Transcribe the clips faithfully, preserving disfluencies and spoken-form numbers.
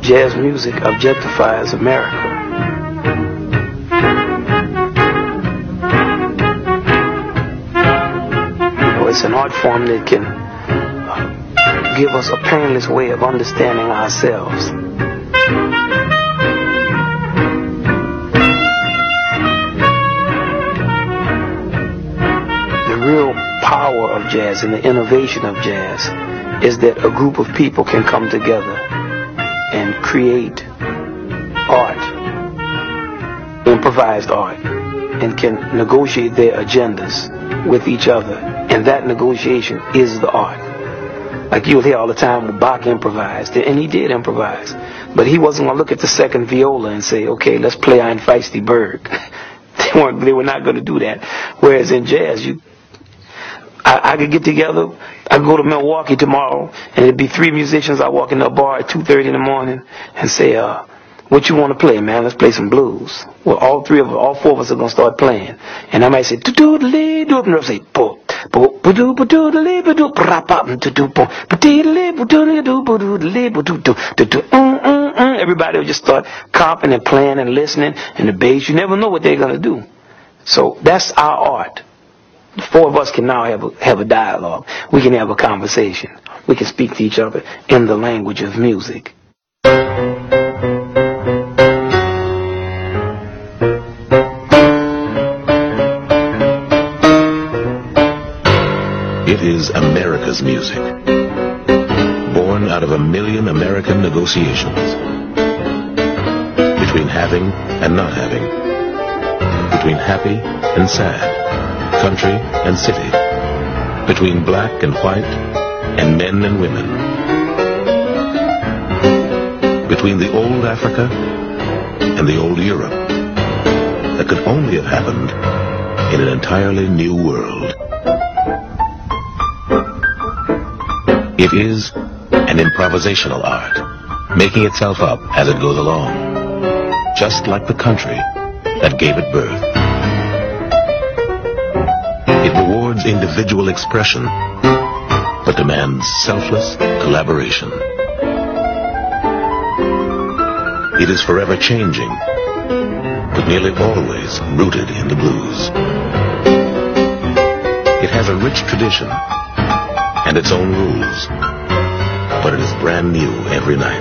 jazz music objectifies America. It's an art form that can uh, give us a painless way of understanding ourselves. The real power of jazz and the innovation of jazz is that a group of people can come together and create art, improvised art, and can negotiate their agendas with each other. And that negotiation is the art. Like you'll hear all the time when Bach improvised, and he did improvise, but he wasn't going to look at the second viola and say, okay, let's play Ein Feisty Berg. They weren't, they were not going to do that. Whereas in jazz, you, I, I could get together, I could go to Milwaukee tomorrow, and it'd be three musicians. I walk in a bar at two thirty in the morning and say, uh, what you want to play, man? Let's play some blues. Well, all three of us, all four of us are going to start playing. And I might say, do-do-do-lee, do-do, and they'll say, po. Everybody will just start comping and playing and listening, and the bass, you never know what they're going to do. So that's our art. The four of us can now have a, have a dialogue. We can have a conversation. We can speak to each other in the language of music. It is America's music, born out of a million American negotiations, between having and not having, between happy and sad, country and city, between black and white, and men and women, between the old Africa and the old Europe, that could only have happened in an entirely new world. It is an improvisational art, making itself up as it goes along, just like the country that gave it birth. It rewards individual expression, but demands selfless collaboration. It is forever changing, but nearly always rooted in the blues. It has a rich tradition and its own rules, but it is brand new every night.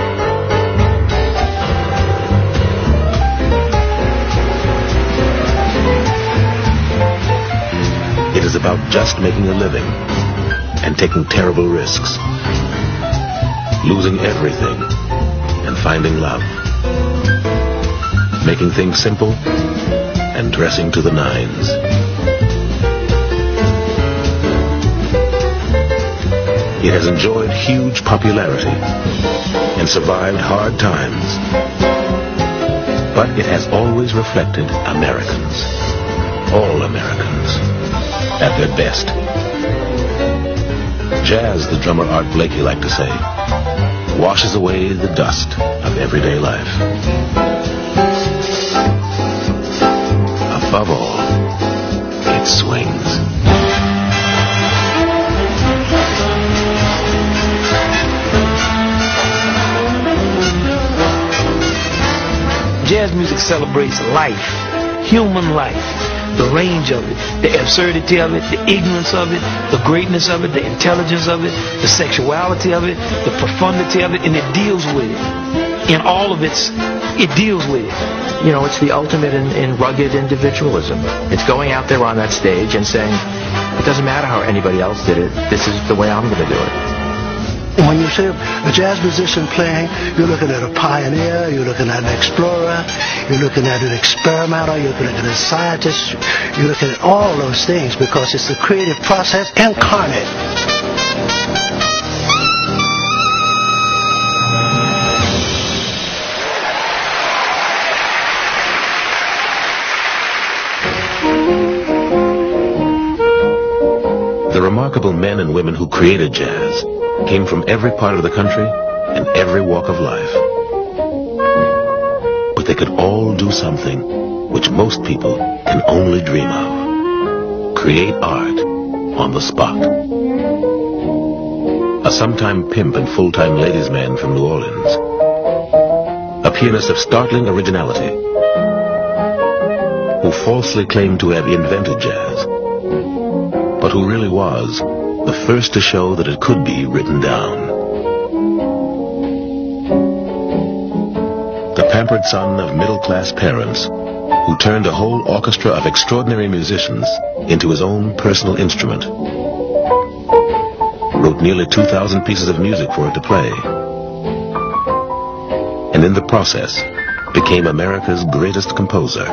It is about just making a living and taking terrible risks, losing everything and finding love, making things simple and dressing to the nines. It has enjoyed huge popularity and survived hard times, but it has always reflected Americans, all Americans, at their best. Jazz, the drummer Art Blakey liked to say, washes away the dust of everyday life. Above all, it swings. Jazz music celebrates life, human life, the range of it, the absurdity of it, the ignorance of it, the greatness of it, the intelligence of it, the sexuality of it, the profundity of it, and it deals with it. In all of its, it deals with it. You know, it's the ultimate in, in rugged individualism. It's going out there on that stage and saying, it doesn't matter how anybody else did it, this is the way I'm going to do it. When you see a jazz musician playing, you're looking at a pioneer, you're looking at an explorer, you're looking at an experimenter, you're looking at a scientist, you're looking at all those things because it's the creative process incarnate. The remarkable men and women who created jazz came from every part of the country and every walk of life. But they could all do something which most people can only dream of. Create art on the spot. A sometime pimp and full-time ladies' man from New Orleans a pianist of startling originality, who falsely claimed to have invented jazz, but who really was the first to show that it could be written down. The pampered son of middle-class parents, who turned a whole orchestra of extraordinary musicians into his own personal instrument, wrote nearly two thousand pieces of music for it to play, and in the process became America's greatest composer.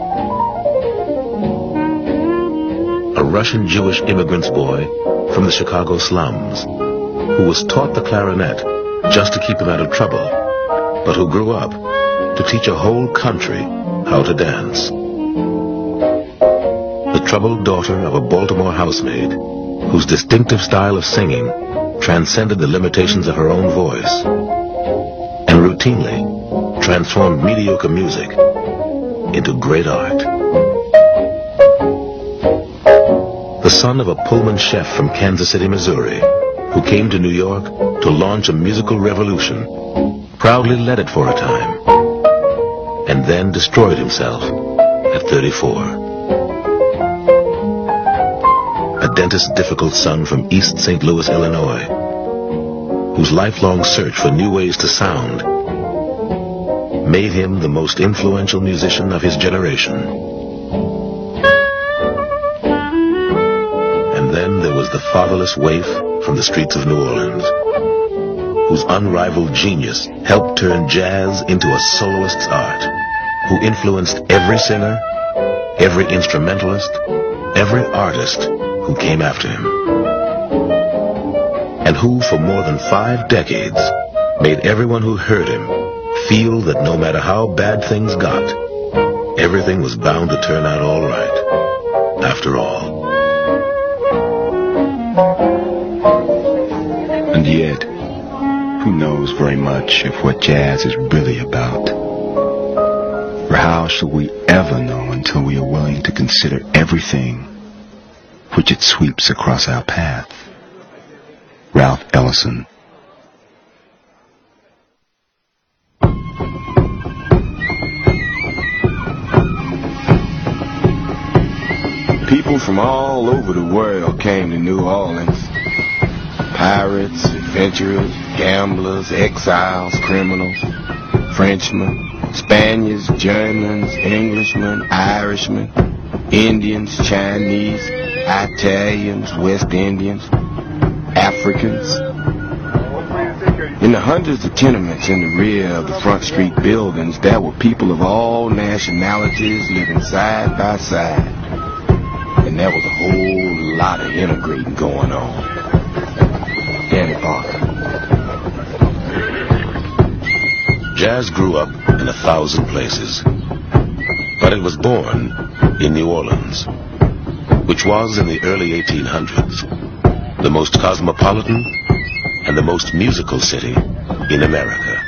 A Russian Jewish immigrant's boy from the Chicago slums, who was taught the clarinet just to keep him out of trouble, but who grew up to teach a whole country how to dance. The troubled daughter of a Baltimore housemaid, whose distinctive style of singing transcended the limitations of her own voice, and routinely transformed mediocre music into great art. The son of a Pullman chef from Kansas City, Missouri, who came to New York to launch a musical revolution, proudly led it for a time, and then destroyed himself at thirty-four. A dentist's difficult son from East Saint Louis, Illinois, whose lifelong search for new ways to sound made him the most influential musician of his generation. And then there was the fatherless waif from the streets of New Orleans, whose unrivaled genius helped turn jazz into a soloist's art, who influenced every singer, every instrumentalist, every artist who came after him, and who for more than five decades made everyone who heard him feel that no matter how bad things got, everything was bound to turn out all right, after all. And yet, who knows very much of what jazz is really about? Or how shall we ever know until we are willing to consider everything which it sweeps across our path? Ralph Ellison. People from all over the world came to New Orleans. Pirates, adventurers, gamblers, exiles, criminals, Frenchmen, Spaniards, Germans, Englishmen, Irishmen, Indians, Chinese, Italians, West Indians, Africans. In the hundreds of tenements in the rear of the Front Street buildings, there were people of all nationalities living side by side. And there was a whole lot of integrating going on. Danny Parker. Jazz grew up in a thousand places, but it was born in New Orleans, which was in the early eighteen hundreds the most cosmopolitan and the most musical city in America.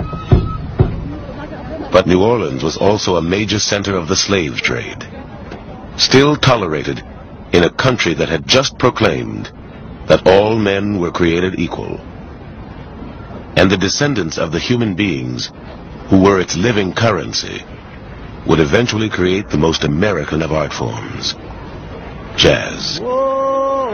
But New Orleans was also a major center of the slave trade, still tolerated in a country that had just proclaimed that all men were created equal, and the descendants of the human beings who were its living currency would eventually create the most American of art forms, jazz. Whoa,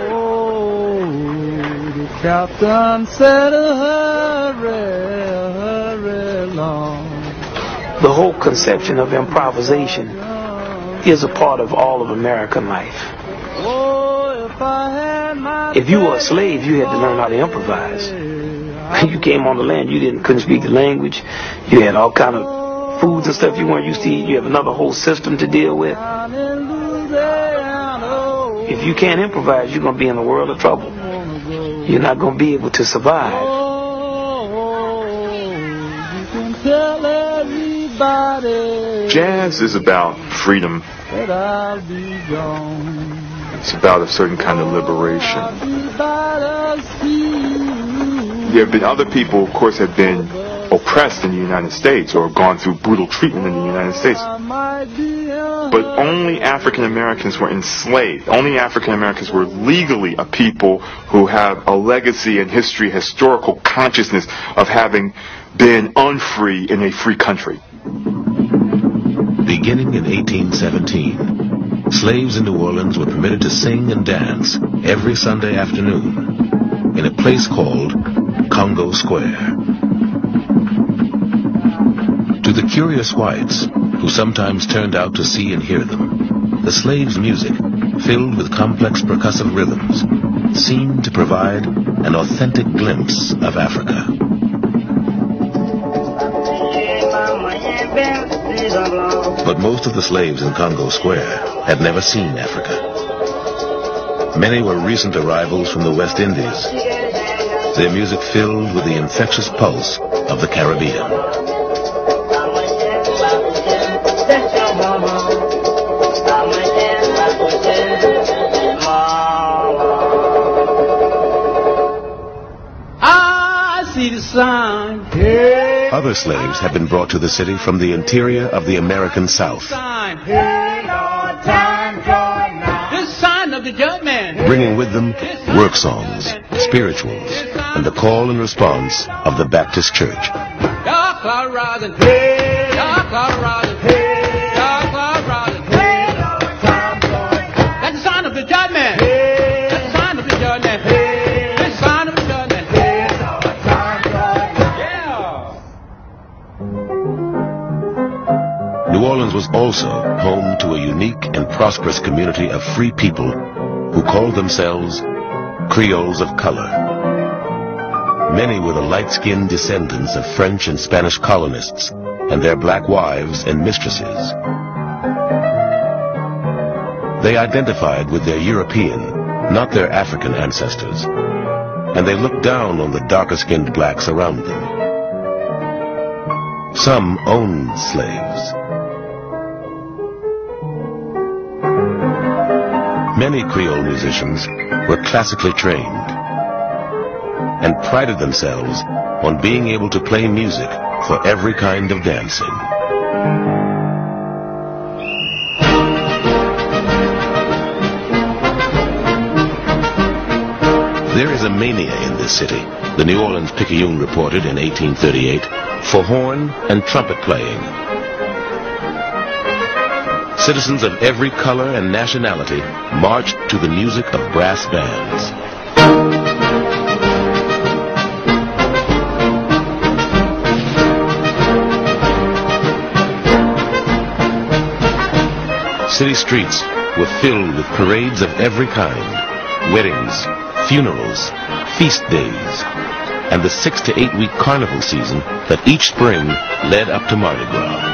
the captain said, hurry, hurry along. The whole conception of improvisation is a part of all of American life. If you were a slave, you had to learn how to improvise. You came on the land, you didn't couldn't speak the language. You had all kind of foods and stuff you weren't used to eat. You have another whole system to deal with. If you can't improvise, you're going to be in a world of trouble. You're not going to be able to survive. Jazz is about freedom. It's about a certain kind of liberation. There have been other people, of course, have been oppressed in the United States or gone through brutal treatment in the United States. but only African Americans were enslaved. Only African Americans were legally a people who have a legacy and history, historical consciousness of having been unfree in a free country. Beginning in eighteen seventeen, slaves in New Orleans were permitted to sing and dance every Sunday afternoon in a place called Congo Square. To the curious whites, who sometimes turned out to see and hear them, the slaves' music, filled with complex percussive rhythms, seemed to provide an authentic glimpse of Africa. But most of the slaves in Congo Square had never seen Africa. Many were recent arrivals from the West Indies, their music filled with the infectious pulse of the Caribbean. I see the sign. Hey. Other slaves had been brought to the city from the interior of the American South, bringing with them work songs, spirituals, and the call and response of the Baptist Church. That's the sign of the judgment. That's the sign of the judgment. That's the sign of the judgment. New Orleans was also home to a unique and prosperous community of free people who called themselves Creoles of color. Many were the light-skinned descendants of French and Spanish colonists and their black wives and mistresses. They identified with their European, not their African ancestors, and they looked down on the darker-skinned blacks around them. Some owned slaves. Many Creole musicians were classically trained and prided themselves on being able to play music for every kind of dancing. There is a mania in this city, the New Orleans Picayune reported in eighteen thirty-eight, for horn and trumpet playing. Citizens of every color and nationality marched to the music of brass bands. City streets were filled with parades of every kind, weddings, funerals, feast days, and the six to eight week carnival season that each spring led up to Mardi Gras.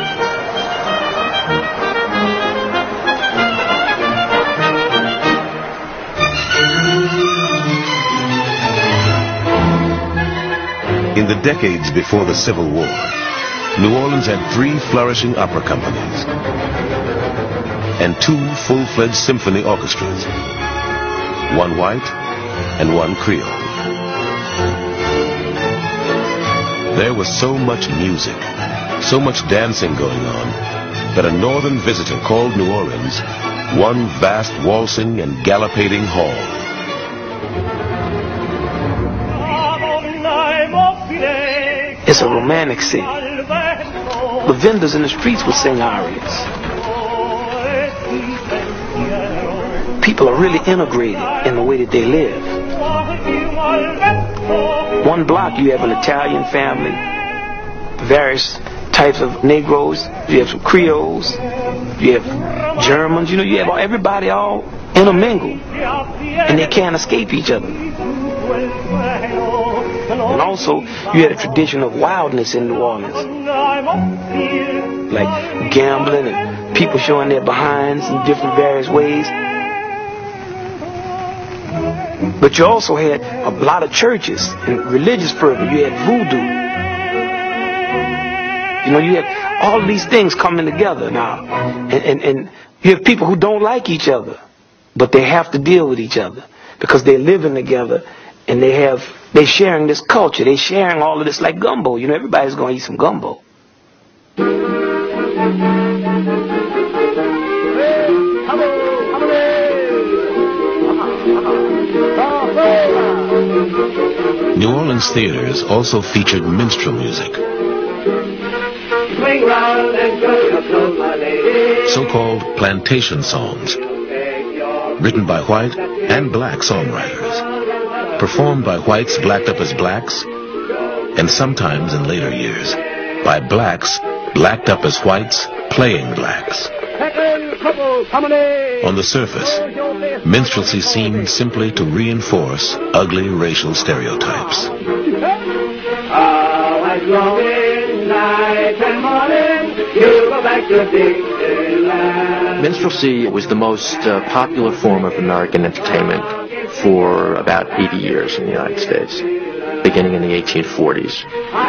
In the decades before the Civil War, New Orleans had three flourishing opera companies and two full-fledged symphony orchestras, one white and one Creole. There was so much music, so much dancing going on, that a northern visitor called New Orleans one vast waltzing and gallipating hall. It's a romantic city. The vendors in the streets would sing arias. People are really integrated in the way that they live. One block you have an Italian family, various types of Negroes, you have some Creoles, you have Germans, you know, you have everybody all intermingled, and they can't escape each other. And also, you had a tradition of wildness in New Orleans, like gambling and people showing their behinds in different various ways. But you also had a lot of churches and religious fervor. You had voodoo. You know, you had all of these things coming together now. And, and, and you have people who don't like each other, but they have to deal with each other because they're living together and they have, they're sharing this culture. They're sharing all of this like gumbo. You know, everybody's going to eat some gumbo. New Orleans theaters also featured minstrel music. So-called plantation songs, written by white and black songwriters, performed by whites blacked up as blacks, and sometimes in later years, by blacks blacked up as whites playing blacks. On the surface, minstrelsy seemed simply to reinforce ugly racial stereotypes. Minstrelsy was the most uh, popular form of American entertainment for about eighty years in the United States, beginning in the eighteen forties.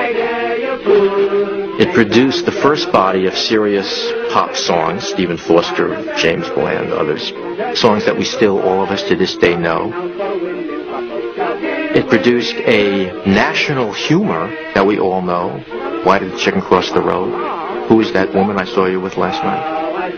It produced the first body of serious pop songs, Stephen Foster, James Bland, others, songs that we still, all of us to this day, know. It produced a national humor that we all know. Why did the chicken cross the road? Who is that woman I saw you with last night?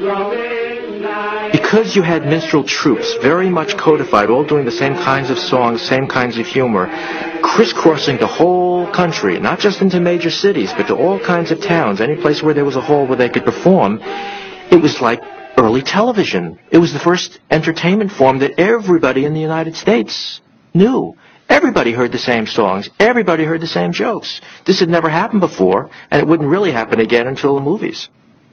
Because you had minstrel troops, very much codified, all doing the same kinds of songs, same kinds of humor, crisscrossing the whole country, not just into major cities, but to all kinds of towns, any place where there was a hall where they could perform. It was like early television. It was the first entertainment form that everybody in the United States knew. Everybody heard the same songs. Everybody heard the same jokes. This had never happened before, and it wouldn't really happen again until the movies.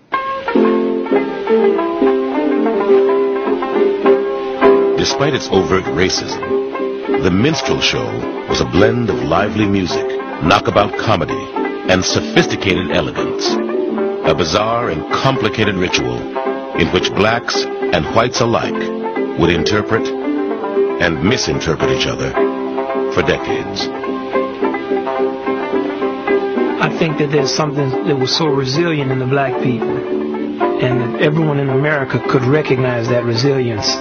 Despite its overt racism, the minstrel show was a blend of lively music, knockabout comedy, and sophisticated elegance. A bizarre and complicated ritual in which blacks and whites alike would interpret and misinterpret each other for decades. I think that there's something that was so resilient in the black people, and that everyone in America could recognize that resilience.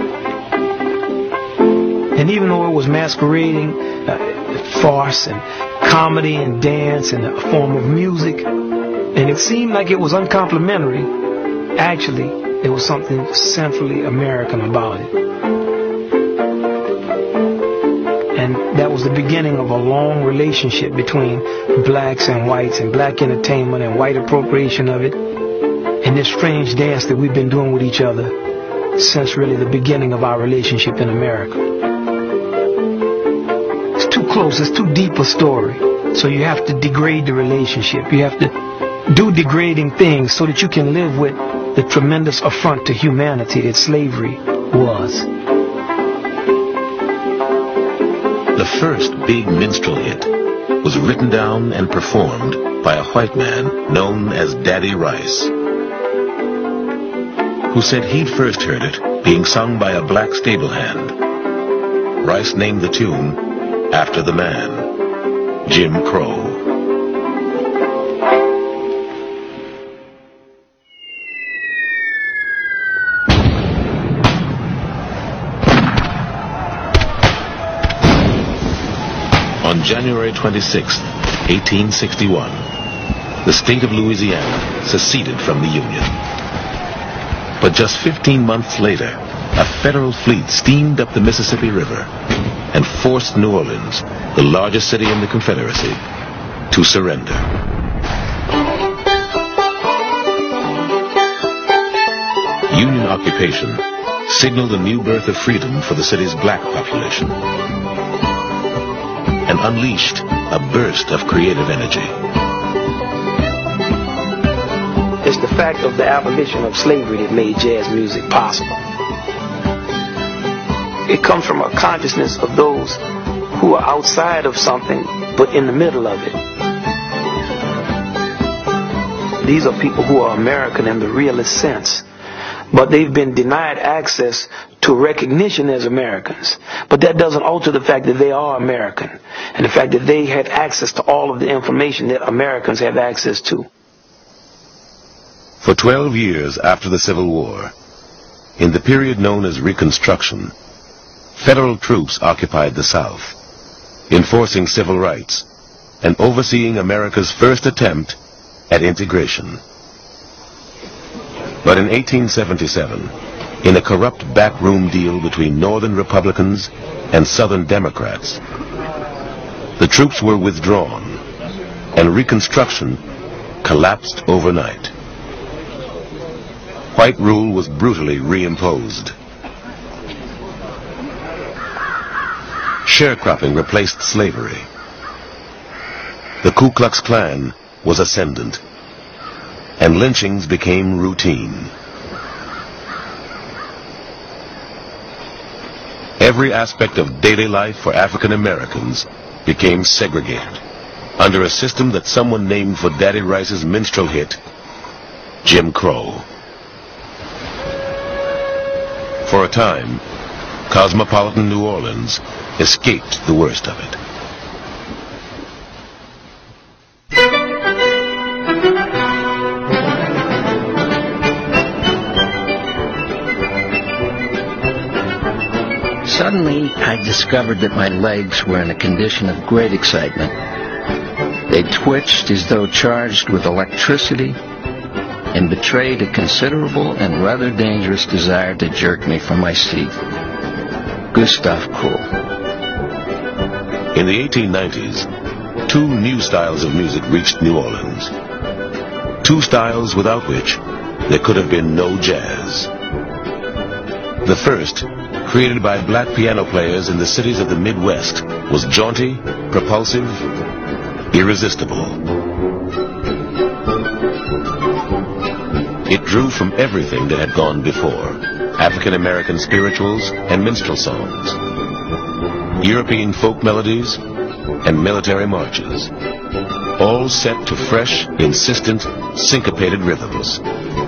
And even though it was masquerading uh, farce and comedy and dance and a form of music, and it seemed like it was uncomplimentary, actually there was something centrally American about it. And that was the beginning of a long relationship between blacks and whites, and black entertainment and white appropriation of it, and this strange dance that we've been doing with each other since really the beginning of our relationship in America. It's too close, it's too deep a story. So you have to degrade the relationship. You have to do degrading things so that you can live with the tremendous affront to humanity that slavery was. The first big minstrel hit was written down and performed by a white man known as Daddy Rice, who said he'd first heard it being sung by a black stable hand. Rice named the tune after the man, Jim Crow. On January twenty-sixth, eighteen sixty-one, the state of Louisiana seceded from the Union. But just fifteen months later, a federal fleet steamed up the Mississippi River and forced New Orleans, the largest city in the Confederacy, to surrender. Union occupation signaled a new birth of freedom for the city's black population and unleashed a burst of creative energy. It's the fact of the abolition of slavery that made jazz music possible. It comes from a consciousness of those who are outside of something but in the middle of it. These are people who are American in the realest sense, but they've been denied access to recognition as Americans. But that doesn't alter the fact that they are American, and the fact that they have access to all of the information that Americans have access to. For twelve years after the Civil War, in the period known as Reconstruction, federal troops occupied the South, enforcing civil rights and overseeing America's first attempt at integration. But in eighteen seventy-seven, in a corrupt backroom deal between Northern Republicans and Southern Democrats, The troops were withdrawn, and Reconstruction collapsed overnight. White rule was brutally reimposed. Sharecropping replaced slavery. The Ku Klux Klan was ascendant, and lynchings became routine. Every aspect of daily life for African Americans became segregated under a system that someone named for Daddy Rice's minstrel hit, Jim Crow. For a time, cosmopolitan New Orleans escaped the worst of it. Suddenly, I discovered that my legs were in a condition of great excitement. They twitched as though charged with electricity and betrayed a considerable and rather dangerous desire to jerk me from my seat. Gustav Kuhl. In the eighteen nineties, two new styles of music reached New Orleans. Two styles without which there could have been no jazz. The first, created by black piano players in the cities of the Midwest, was jaunty, propulsive, irresistible. It drew from everything that had gone before: African American spirituals and minstrel songs, European folk melodies, and military marches, all set to fresh, insistent, syncopated rhythms.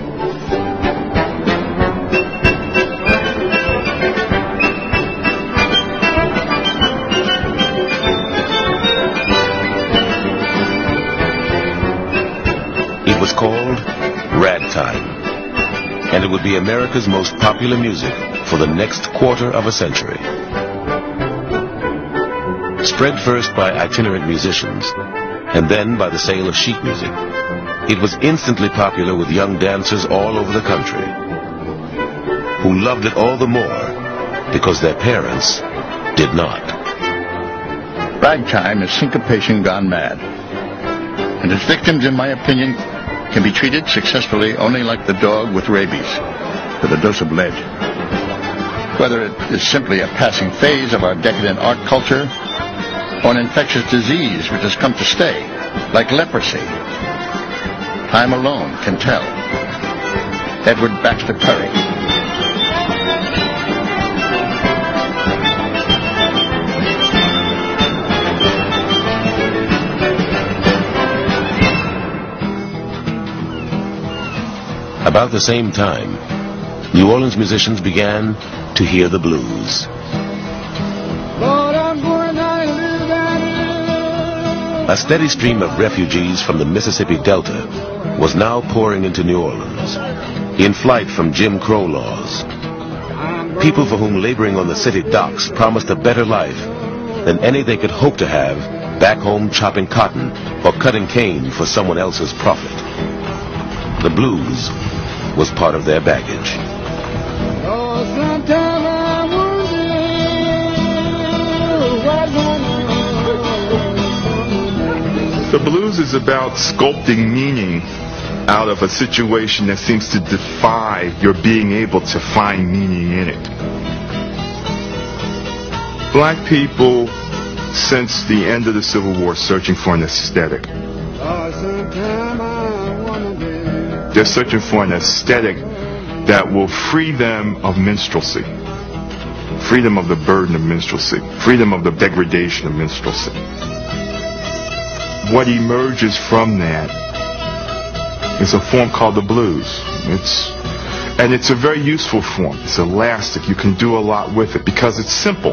It was called ragtime, and it would be America's most popular music for the next quarter of a century. Spread first by itinerant musicians, and then by the sale of sheet music, it was instantly popular with young dancers all over the country, who loved it all the more because their parents did not. Ragtime is syncopation gone mad, and its victims, in my opinion, can be treated successfully only like the dog with rabies, with a dose of lead. Whether it is simply a passing phase of our decadent art culture, or an infectious disease which has come to stay, like leprosy, time alone can tell. Edward Baxter Perry. About the same time, New Orleans musicians began to hear the blues. A steady stream of refugees from the Mississippi Delta was now pouring into New Orleans, in flight from Jim Crow laws. People for whom laboring on the city docks promised a better life than any they could hope to have back home chopping cotton or cutting cane for someone else's profit. The blues was part of their baggage. Oh, sometime I wonder. The blues is about sculpting meaning out of a situation that seems to defy your being able to find meaning in it. Black people, since the end of the Civil War, searching for an aesthetic. Oh, sometime I wonder. They're searching for an aesthetic that will free them of minstrelsy, freedom of the burden of minstrelsy, freedom of the degradation of minstrelsy. What emerges from that is a form called the blues. It's and it's a very useful form. It's elastic. You can do a lot with it because it's simple.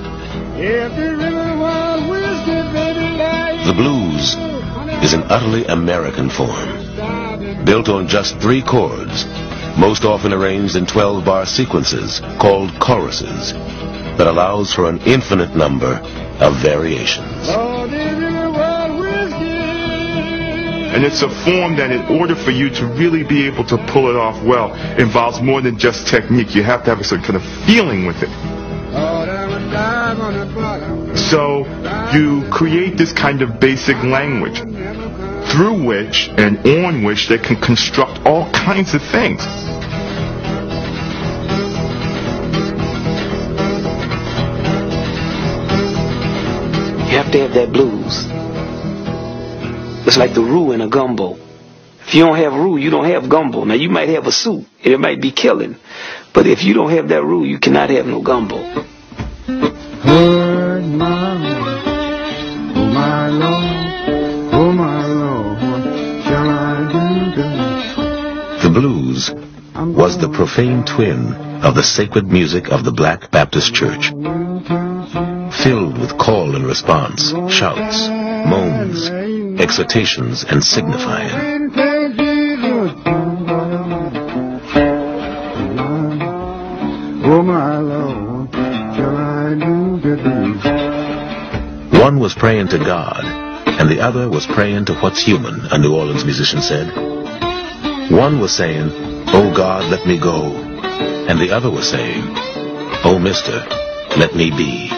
The blues is an utterly American form, built on just three chords, most often arranged in twelve-bar sequences called choruses, that allows for an infinite number of variations. And it's a form that in order for you to really be able to pull it off well, involves more than just technique. You have to have a certain kind of feeling with it. So you create this kind of basic language through which and on which they can construct all kinds of things. You have to have that blues. It's like the roux in a gumbo. If you don't have roux, you don't have gumbo. Now you might have a soup, and it might be killing. But if you don't have that roux, you cannot have no gumbo. Oh my Lord, oh my Lord, oh my Lord, what shall I do to... The blues was the profane twin of the sacred music of the Black Baptist Church, filled with call and response, shouts, moans, exhortations, and signifying. Oh my Lord, shall I do the blues? One was praying to God, and the other was praying to what's human, a New Orleans musician said. One was saying, "Oh God, let me go," and the other was saying, "Oh mister, let me be."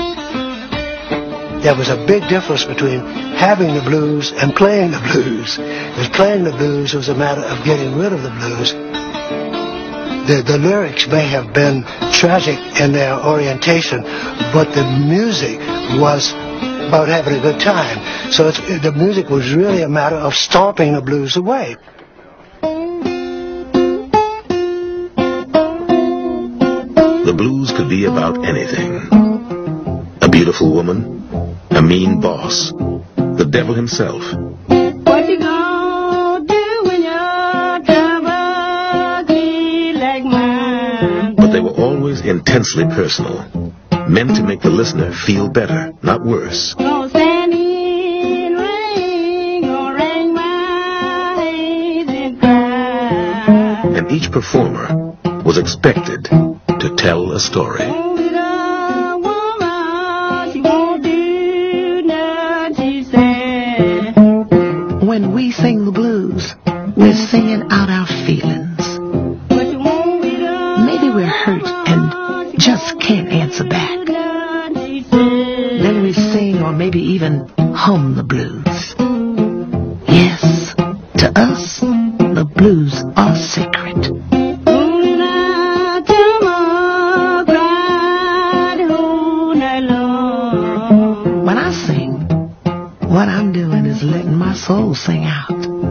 There was a big difference between having the blues and playing the blues. Because playing the blues was a matter of getting rid of the blues. The, the lyrics may have been tragic in their orientation, but the music was about having a good time. So it's, the music was really a matter of stomping the blues away. The blues could be about anything. A beautiful woman, a mean boss, the devil himself. What you gonna do when your trouble be like mine? But they were always intensely personal, meant to make the listener feel better, not worse. Gonna stand in rain, gonna wring my hands and cry. And each performer was expected to tell a story. When we sing the blues, we're singing out our feelings. Maybe we're hurt and just can't answer back. Then we sing or maybe even hum the blues. Yes, to us, the blues are sacred. When I sing, what I'm doing is letting my soul sing out.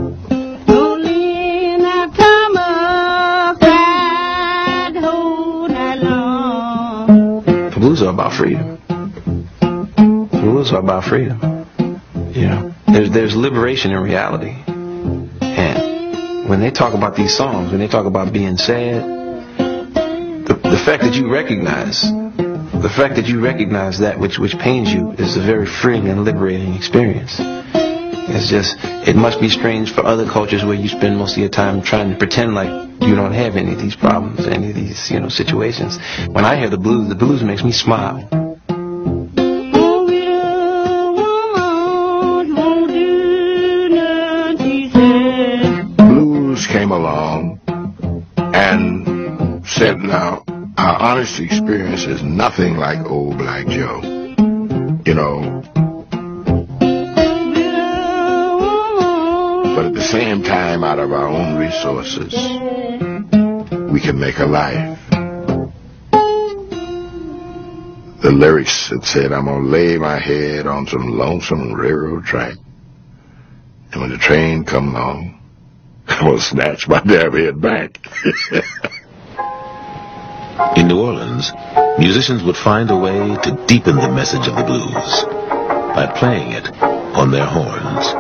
The blues are about freedom. The blues are about freedom. You know, there's there's liberation in reality. And when they talk about these songs, when they talk about being sad, the, the fact that you recognize, the fact that you recognize that which which pains you is a very freeing and liberating experience. It's just, it must be strange for other cultures where you spend most of your time trying to pretend like you don't have any of these problems, any of these, you know, situations. When I hear the blues, the blues makes me smile. Blues came along and said, now, our honest experience is nothing like Old Black Joe. You know, but at the same time, out of our own resources, we can make a life. The lyrics that said, I'm going to lay my head on some lonesome railroad track, and when the train come along, I'm going to snatch my damn head back. In New Orleans, musicians would find a way to deepen the message of the blues by playing it on their horns.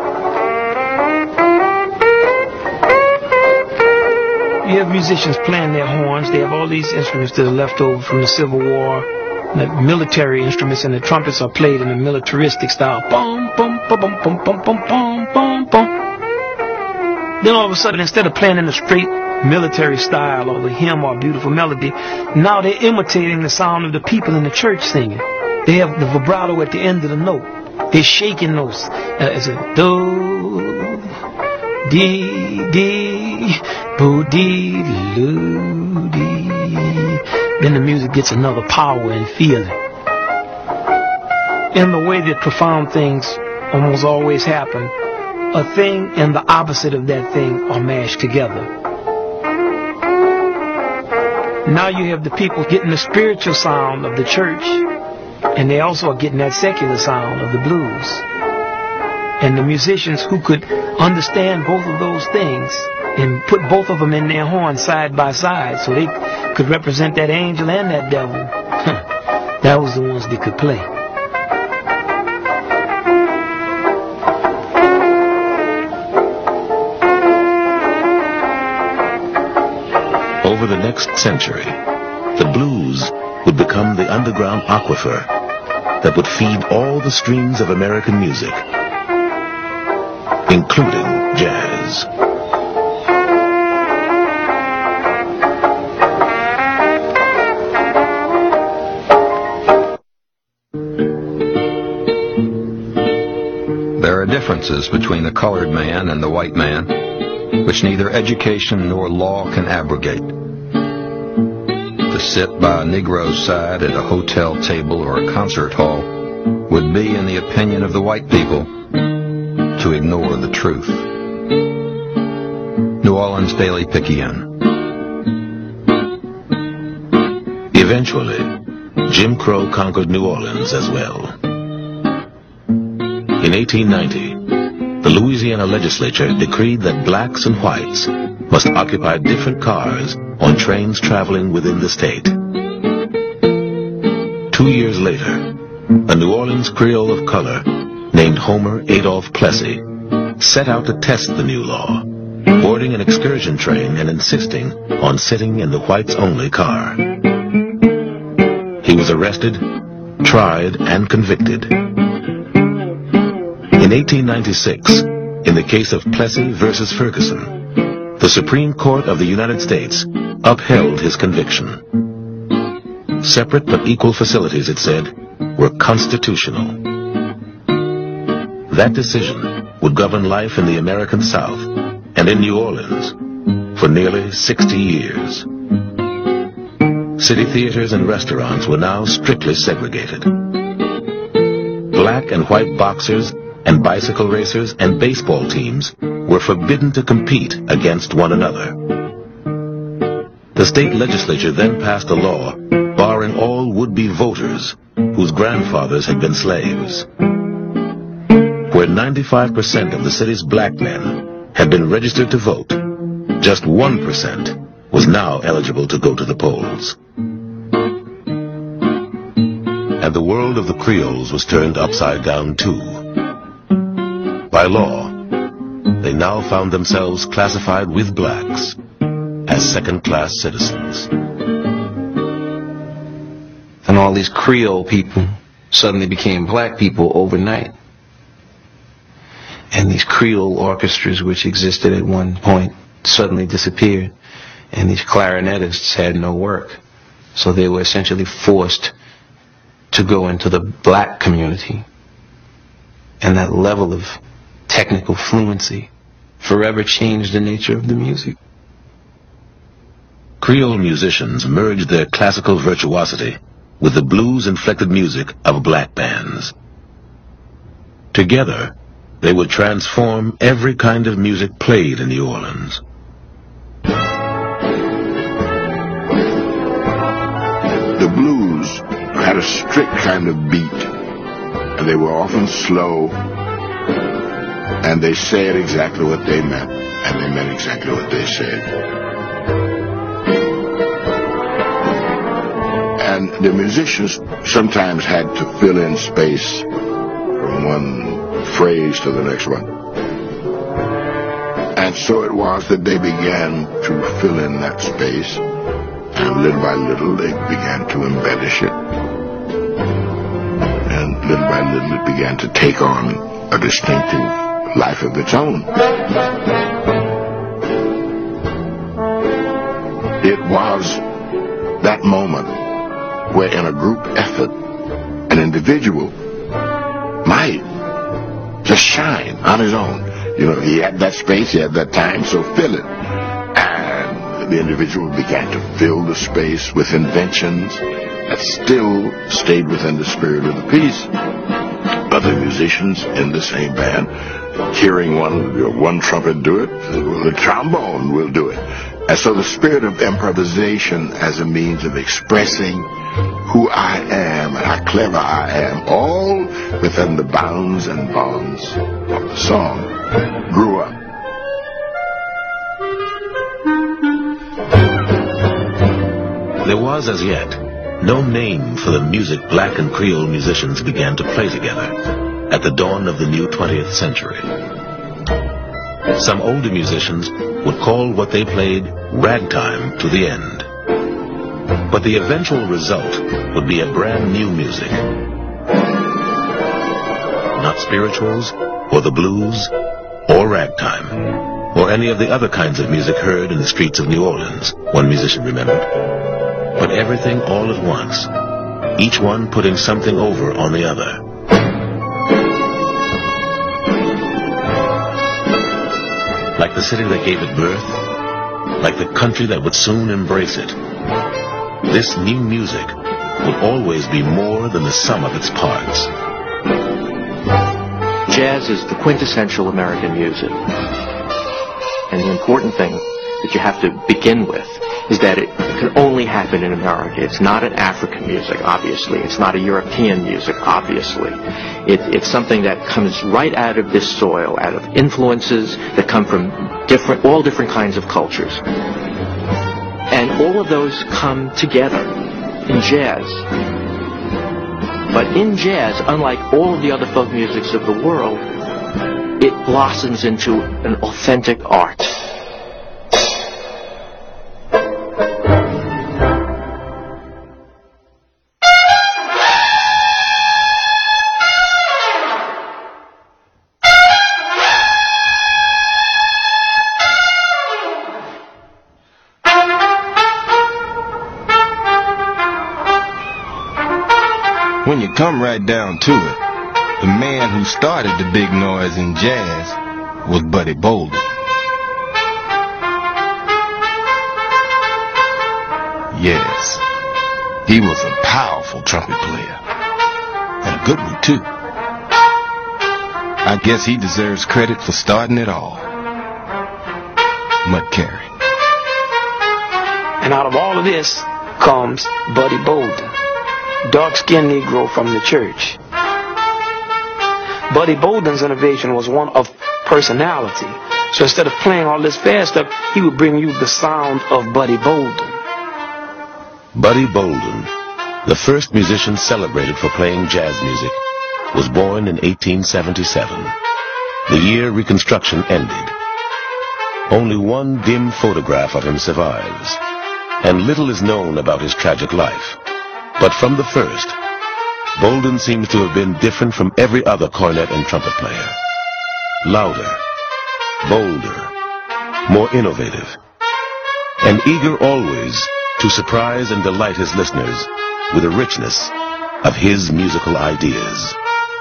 You have musicians playing their horns. They have all these instruments that are left over from the Civil War, like military instruments, and the trumpets are played in a militaristic style. Boom, boom, boom, boom, boom, boom, boom, boom, boom, boom. Then all of a sudden, instead of playing in a straight military style or the hymn or beautiful melody, now they're imitating the sound of the people in the church singing. They have the vibrato at the end of the note. They're shaking those. Uh, it's a do, dee, dee, bo, dee, loo, dee. Then the music gets another power and feeling. in the way that profound things almost always happen, a thing and the opposite of that thing are mashed together. Now you have the people getting the spiritual sound of the church, and they also are getting that secular sound of the blues. And the musicians who could understand both of those things and put both of them in their horn side by side so they could represent that angel and that devil, that was the ones that could play. Over the next century, the blues would become the underground aquifer that would feed all the streams of American music, including jazz. There are differences between the colored man and the white man, which neither education nor law can abrogate. To sit by a Negro's side at a hotel table or a concert hall would be, in the opinion of the white people, to ignore the truth. New Orleans Daily Picayune. Eventually, Jim Crow conquered New Orleans as well. In eighteen ninety, the Louisiana legislature decreed that blacks and whites must occupy different cars on trains traveling within the state. Two years later, a New Orleans Creole of color named Homer Adolph Plessy set out to test the new law, boarding an excursion train and insisting on sitting in the whites-only car. He was arrested, tried, and convicted. In eighteen ninety-six, in the case of Plessy versus Ferguson, the Supreme Court of the United States upheld his conviction. Separate but equal facilities, it said, were constitutional. That decision would govern life in the American South and in New Orleans for nearly sixty years. City theaters and restaurants were now strictly segregated. Black and white boxers and bicycle racers and baseball teams were forbidden to compete against one another. The state legislature then passed a law barring all would-be voters whose grandfathers had been slaves. Where ninety-five percent of the city's black men had been registered to vote, just one percent was now eligible to go to the polls. And the world of the Creoles was turned upside down too. By law, they now found themselves classified with blacks as second-class citizens. And all these Creole people suddenly became black people overnight. And these Creole orchestras, which existed at one point, suddenly disappeared. And these clarinetists had no work. So they were essentially forced to go into the black community. And that level of technical fluency forever changed the nature of the music. Creole musicians merged their classical virtuosity with the blues-inflected music of black bands. Together, they would transform every kind of music played in New Orleans. The blues had a strict kind of beat, and they were often slow, and they said exactly what they meant, and they meant exactly what they said. And the musicians sometimes had to fill in space from one phrase to the next one. And so it was that they began to fill in that space, and little by little they began to embellish it. And little by little it began to take on a distinctive life of its own. It was that moment where in a group effort, an individual might just shine on his own. You know, he had that space, he had that time, so fill it. And the individual began to fill the space with inventions that still stayed within the spirit of the piece. other musicians in the same band. Hearing one one trumpet do it, the trombone will do it. And so the spirit of improvisation as a means of expressing who I am and how clever I am, all within the bounds and bonds of the song, grew up. There was as yet no name for the music black and Creole musicians began to play together at the dawn of the new twentieth century. Some older musicians would call what they played ragtime to the end. But the eventual result would be a brand new music. Not spirituals, or the blues, or ragtime, or any of the other kinds of music heard in the streets of New Orleans, one musician remembered. But everything all at once, each one putting something over on the other. Like the city that gave it birth, like the country that would soon embrace it, this new music would always be more than the sum of its parts. Jazz is the quintessential American music. And the important thing that you have to begin with is that it can only happen in America. It's not an African music, obviously. It's not a European music, obviously. It, it's something that comes right out of this soil, out of influences that come from different, all different kinds of cultures. And all of those come together in jazz. But in jazz, unlike all of the other folk musics of the world, it blossoms into an authentic art. When you come right down to it, the man who started the big noise in jazz was Buddy Bolden. Yes, he was a powerful trumpet player, and a good one too. I guess he deserves credit for starting it all. Mud Carey. And out of all of this comes Buddy Bolden, dark-skinned Negro from the church. Buddy Bolden's innovation was one of personality. So instead of playing all this fast stuff, he would bring you the sound of Buddy Bolden. Buddy Bolden, the first musician celebrated for playing jazz music, was born in eighteen seventy-seven, the year Reconstruction ended. Only one dim photograph of him survives, and little is known about his tragic life. But from the first, Bolden seems to have been different from every other cornet and trumpet player. Louder, bolder, more innovative, and eager always to surprise and delight his listeners with the richness of his musical ideas.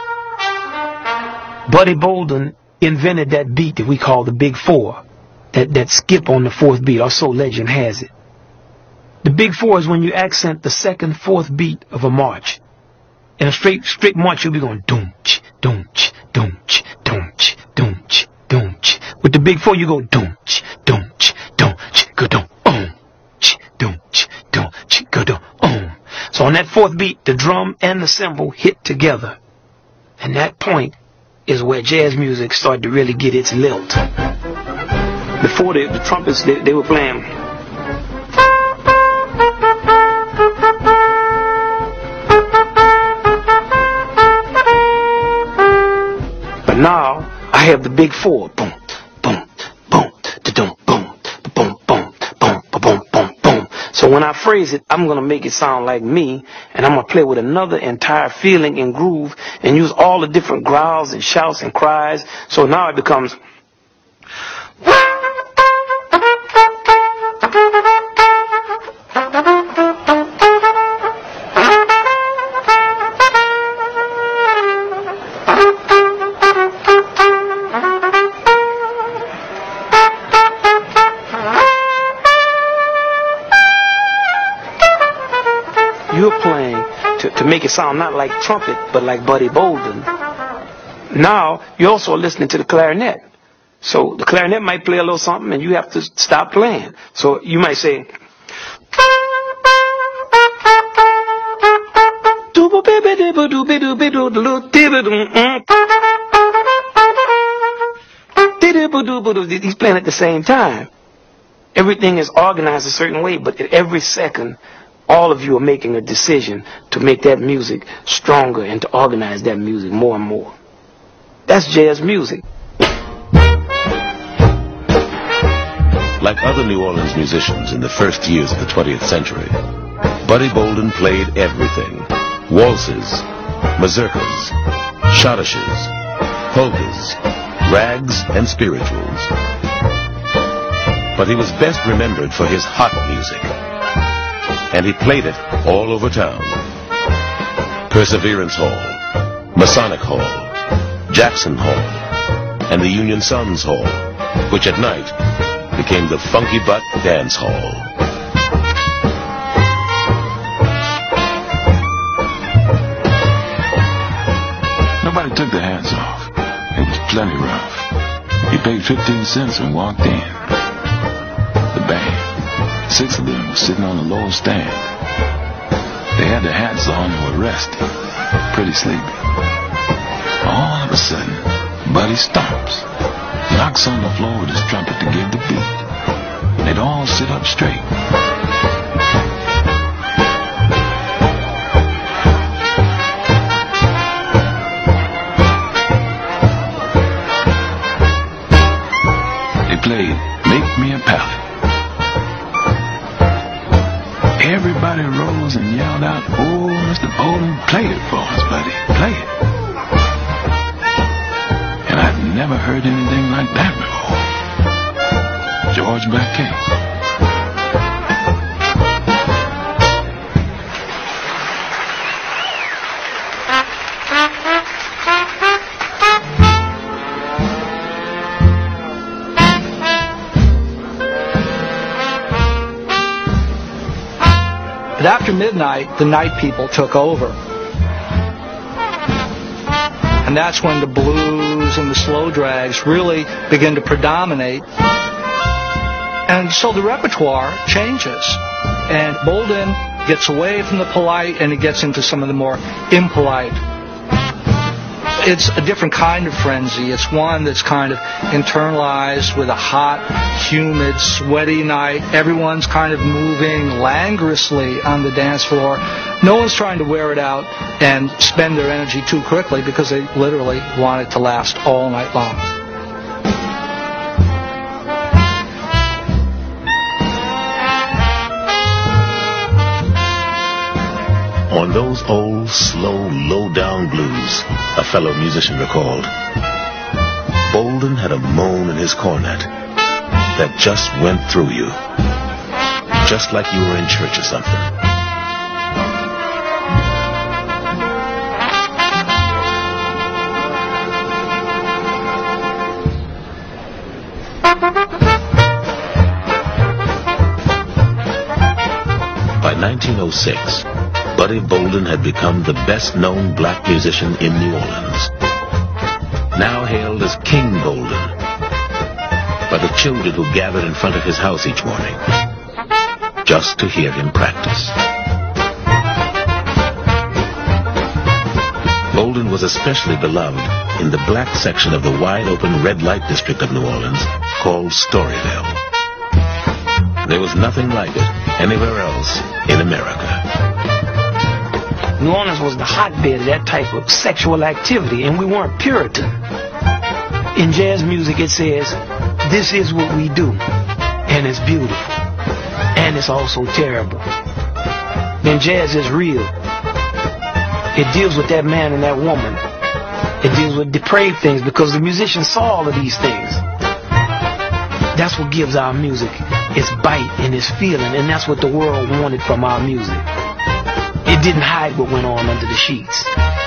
Buddy Bolden invented that beat that we call the Big Four, that, that skip on the fourth beat, or so legend has it. The Big Four is when you accent the second, fourth beat of a march. In a straight, straight march, you'll be going doom-ch, doom-ch, doom-ch, doom-ch, doom-ch, doom-ch. With the Big Four, you go doom-ch, doom-ch, doom-ch, go doom, ch, doom-ch, doom-ch, go doom, um. So on that fourth beat, the drum and the cymbal hit together. And that point is where jazz music started to really get its lilt. Before the, the trumpets, they, they were playing. But now, I have the Big Four. Boom, boom, boom, da-dum, boom, boom, boom, boom, boom, boom, boom. So when I phrase it, I'm going to make it sound like me, and I'm going to play with another entire feeling and groove and use all the different growls and shouts and cries. So now it becomes... You're playing to, to make it sound not like trumpet, but like Buddy Bolden. now you're also listening to the clarinet. So the clarinet might play a little something and you have to stop playing. So you might say, he's playing at the same time. Everything is organized a certain way, but at every second, all of you are making a decision to make that music stronger and to organize that music more and more. That's jazz music. Like other New Orleans musicians in the first years of the twentieth century, Buddy Bolden played everything. Waltzes, mazurkas, schottisches, polkas, rags, and spirituals. But he was best remembered for his hot music. And he played it all over town. Perseverance Hall, Masonic Hall, Jackson Hall, and the Union Sons Hall, which at night became the Funky Butt Dance Hall. Nobody took their hats off. It was plenty rough. He paid fifteen cents and walked in. The band, six of them were sitting on the lower stand. They had their hats on and were resting, pretty sleepy. All of a sudden, Buddy stops, knocks on the floor with his trumpet to give the beat. They'd all sit up straight. They played Make Me a Pallet. Everybody rose and yelled out, "Oh, Mister Bolden, play it for us, buddy, play it." And I'd never heard anything like that before. George Baquet. But after midnight, the night people took over. And that's when the blues and the slow drags really begin to predominate. And so the repertoire changes. And Bolden gets away from the polite and he gets into some of the more impolite. It's a different kind of frenzy. It's one that's kind of internalized with a hot, humid, sweaty night. Everyone's kind of moving languorously on the dance floor. No one's trying to wear it out and spend their energy too quickly because they literally want it to last all night long. On those old, slow, low-down blues, a fellow musician recalled, Bolden had a moan in his cornet that just went through you, just like you were in church or something. By nineteen oh six, Buddy Bolden had become the best-known black musician in New Orleans, now hailed as King Bolden by the children who gathered in front of his house each morning just to hear him practice. Bolden was especially beloved in the black section of the wide-open red light district of New Orleans called Storyville. There was nothing like it anywhere else in America. New Orleans was the hotbed of that type of sexual activity, and we weren't Puritan. In jazz music, it says, this is what we do, and it's beautiful, and it's also terrible. Then jazz is real. It deals with that man and that woman. It deals with depraved things because the musicians saw all of these things. That's what gives our music its bite and its feeling, and that's what the world wanted from our music. It didn't hide what went on under the sheets.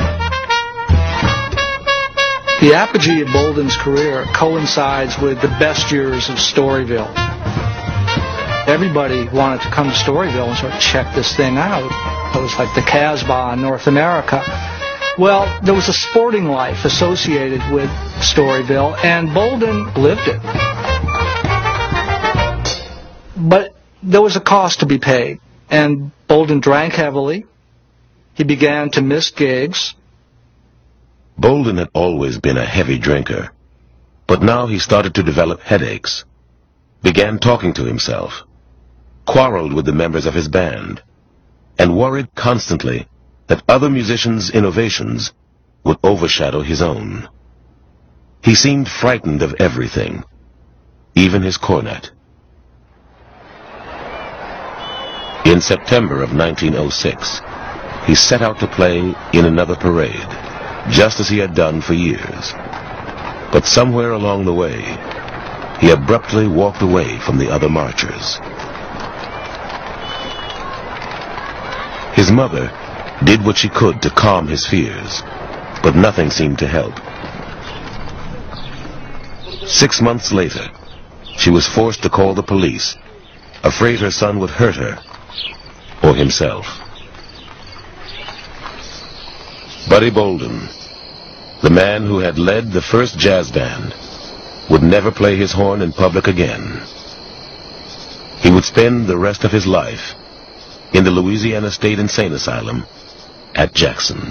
The apogee of Bolden's career coincides with the best years of Storyville. Everybody wanted to come to Storyville and sort of check this thing out. It was like the Casbah in North America. Well, there was a sporting life associated with Storyville, and Bolden lived it. But there was a cost to be paid, and Bolden drank heavily. He began to miss gigs. Bolden had always been a heavy drinker, but now he started to develop headaches, began talking to himself, quarreled with the members of his band, and worried constantly that other musicians' innovations would overshadow his own. He seemed frightened of everything, even his cornet. In September of nineteen oh six, he set out to play in another parade, just as he had done for years. But somewhere along the way, he abruptly walked away from the other marchers. His mother did what she could to calm his fears, but nothing seemed to help. Six months later, she was forced to call the police, afraid her son would hurt her or himself. Buddy Bolden, the man who had led the first jazz band, would never play his horn in public again. He would spend the rest of his life in the Louisiana State Insane Asylum at Jackson.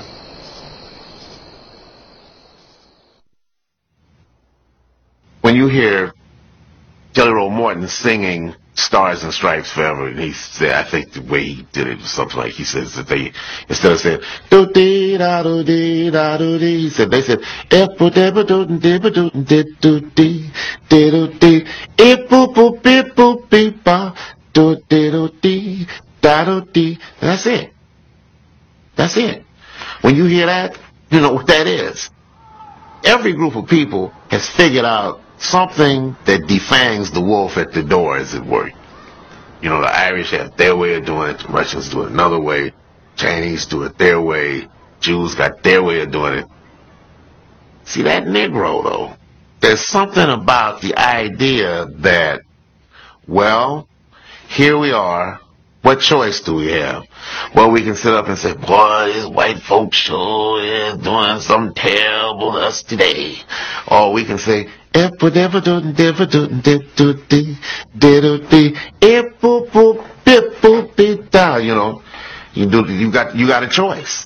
When you hear Jelly Roll Morton singing Stars and Stripes Forever, and he said, I think the way he did it was something like, he says that they, instead of saying, do dee da do dee da do dee, he said, they said, epo deba do deba do dee do dee, dee do dee, epo boop beep boop beep ba, do dee do dee, da do dee. That's it. That's it. When you hear that, you know what that is. Every group of people has figured out something that defangs the wolf at the door, as it were. You know, the Irish have their way of doing it, the Russians do it another way, Chinese do it their way, Jews got their way of doing it. See, that Negro, though, there's something about the idea that, well, here we are, what choice do we have? Well, we can sit up and say, boy, this white folk sure is doing something terrible to us today. Or we can say, you know, you do, you got, you got a choice.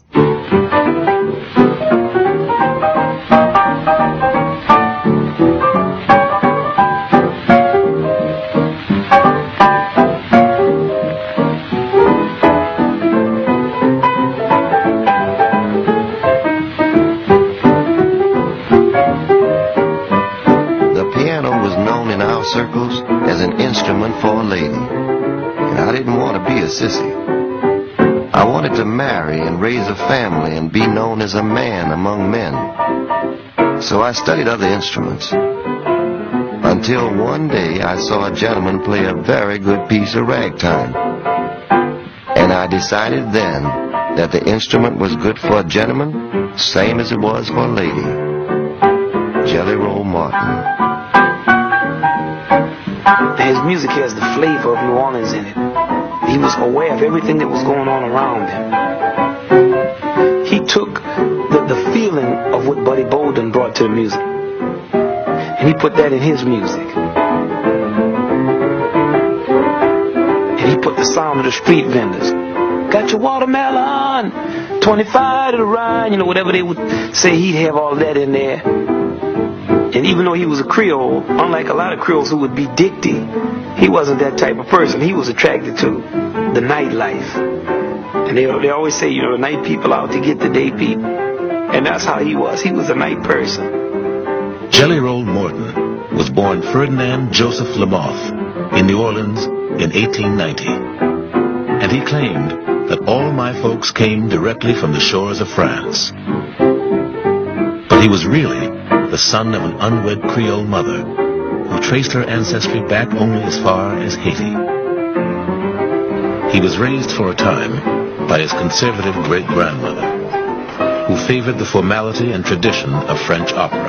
Circles as an instrument for a lady, and I didn't want to be a sissy. I wanted to marry and raise a family and be known as a man among men. So I studied other instruments until one day I saw a gentleman play a very good piece of ragtime, and I decided then that the instrument was good for a gentleman same as it was for a lady. Jelly Roll Morton. His music has the flavor of New Orleans in it. He was aware of everything that was going on around him. He took the, the feeling of what Buddy Bolden brought to the music, and he put that in his music. And he put the sound of the street vendors. Got your watermelon, twenty-five to the ride, you know, whatever they would say, he'd have all that in there. And even though he was a Creole, unlike a lot of Creoles who would be dicty, he wasn't that type of person. He was attracted to the nightlife. And they, they always say, you know, the night people out to get the day people. And that's how he was. He was a night person. Jelly Roll Morton was born Ferdinand Joseph Lamoth in New Orleans in eighteen ninety. And he claimed that all my folks came directly from the shores of France. But he was really the son of an unwed Creole mother who traced her ancestry back only as far as Haiti. He was raised for a time by his conservative great-grandmother, who favored the formality and tradition of French opera.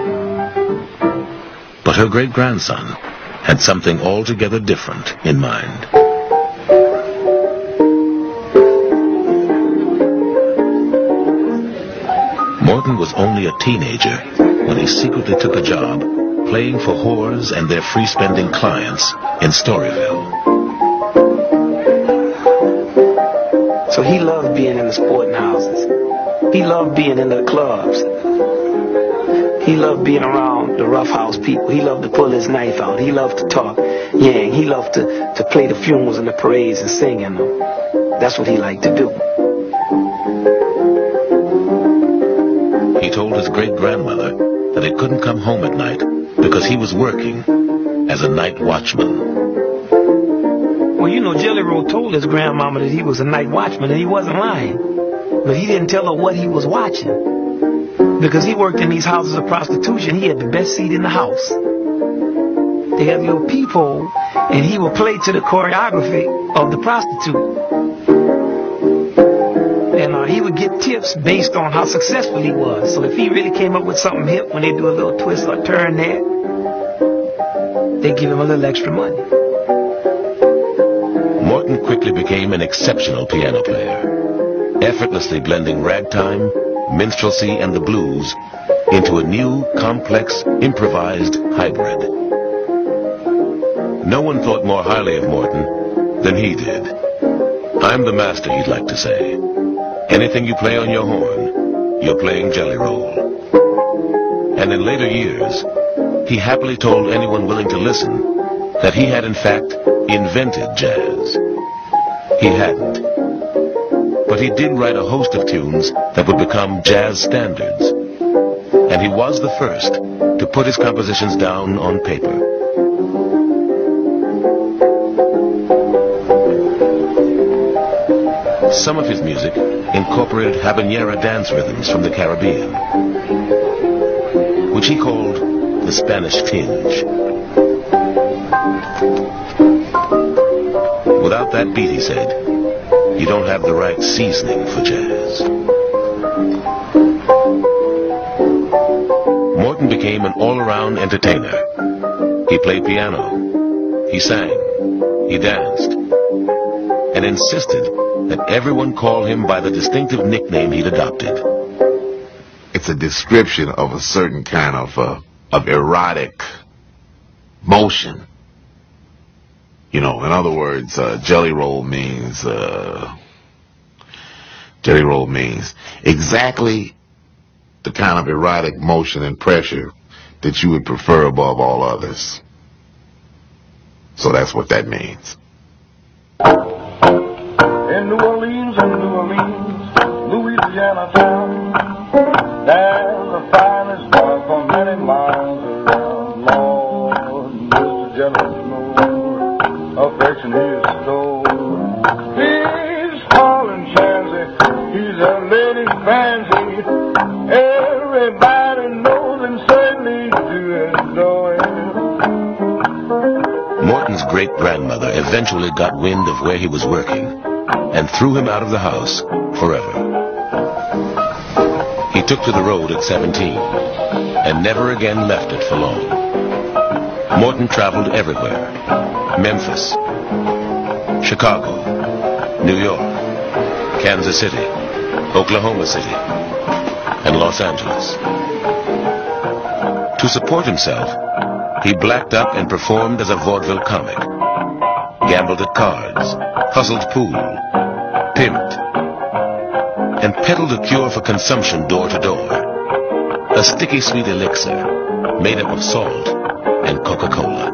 But her great-grandson had something altogether different in mind. Morton was only a teenager when he secretly took a job playing for whores and their free-spending clients in Storyville. So he loved being in the sporting houses. He loved being in the clubs. He loved being around the rough house people. He loved to pull his knife out. He loved to talk yang. He loved to, to play the funerals and the parades and sing in them. That's what he liked to do. He told his great-grandmother that he couldn't come home at night because he was working as a night watchman. Well, you know, Jelly Roll told his grandmama that he was a night watchman, and he wasn't lying. But he didn't tell her what he was watching. Because he worked in these houses of prostitution, he had the best seat in the house. They had a little peephole, and he would play to the choreography of the prostitute. And uh, he would get tips based on how successful he was. So if he really came up with something hip, when they do a little twist or turn there, they give him a little extra money. Morton quickly became an exceptional piano player, effortlessly blending ragtime, minstrelsy, and the blues into a new, complex, improvised hybrid. No one thought more highly of Morton than he did. I'm the master, he'd like to say. Anything you play on your horn, you're playing Jelly Roll. And in later years, he happily told anyone willing to listen that he had in fact invented jazz. He hadn't. But he did write a host of tunes that would become jazz standards. And he was the first to put his compositions down on paper. Some of his music incorporated habanera dance rhythms from the Caribbean, which he called the Spanish tinge. Without that beat, he said, you don't have the right seasoning for jazz. Morton became an all-around entertainer. He played piano, he sang, he danced, and insisted that everyone call him by the distinctive nickname he'd adopted. It's a description of a certain kind of uh, of erotic motion. You know, in other words, uh, Jelly Roll means uh, Jelly Roll means exactly the kind of erotic motion and pressure that you would prefer above all others. So that's what that means. In New Orleans, in New Orleans, Louisiana town, there's the finest boy for many miles around. Lord, Mister Jelly Roll, affection he is stole. He's calling Chansey, he's a lady fancy. Everybody knows him, certainly do adore him. Morton's great-grandmother eventually got wind of where he was working and threw him out of the house forever. He took to the road at seventeen and never again left it for long. Morton traveled everywhere: Memphis, Chicago, New York, Kansas City, Oklahoma City, and Los Angeles. To support himself, he blacked up and performed as a vaudeville comic, gambled at cards, hustled pool, pimped, and peddled a cure for consumption door to door, a sticky sweet elixir made up of salt and Coca-Cola.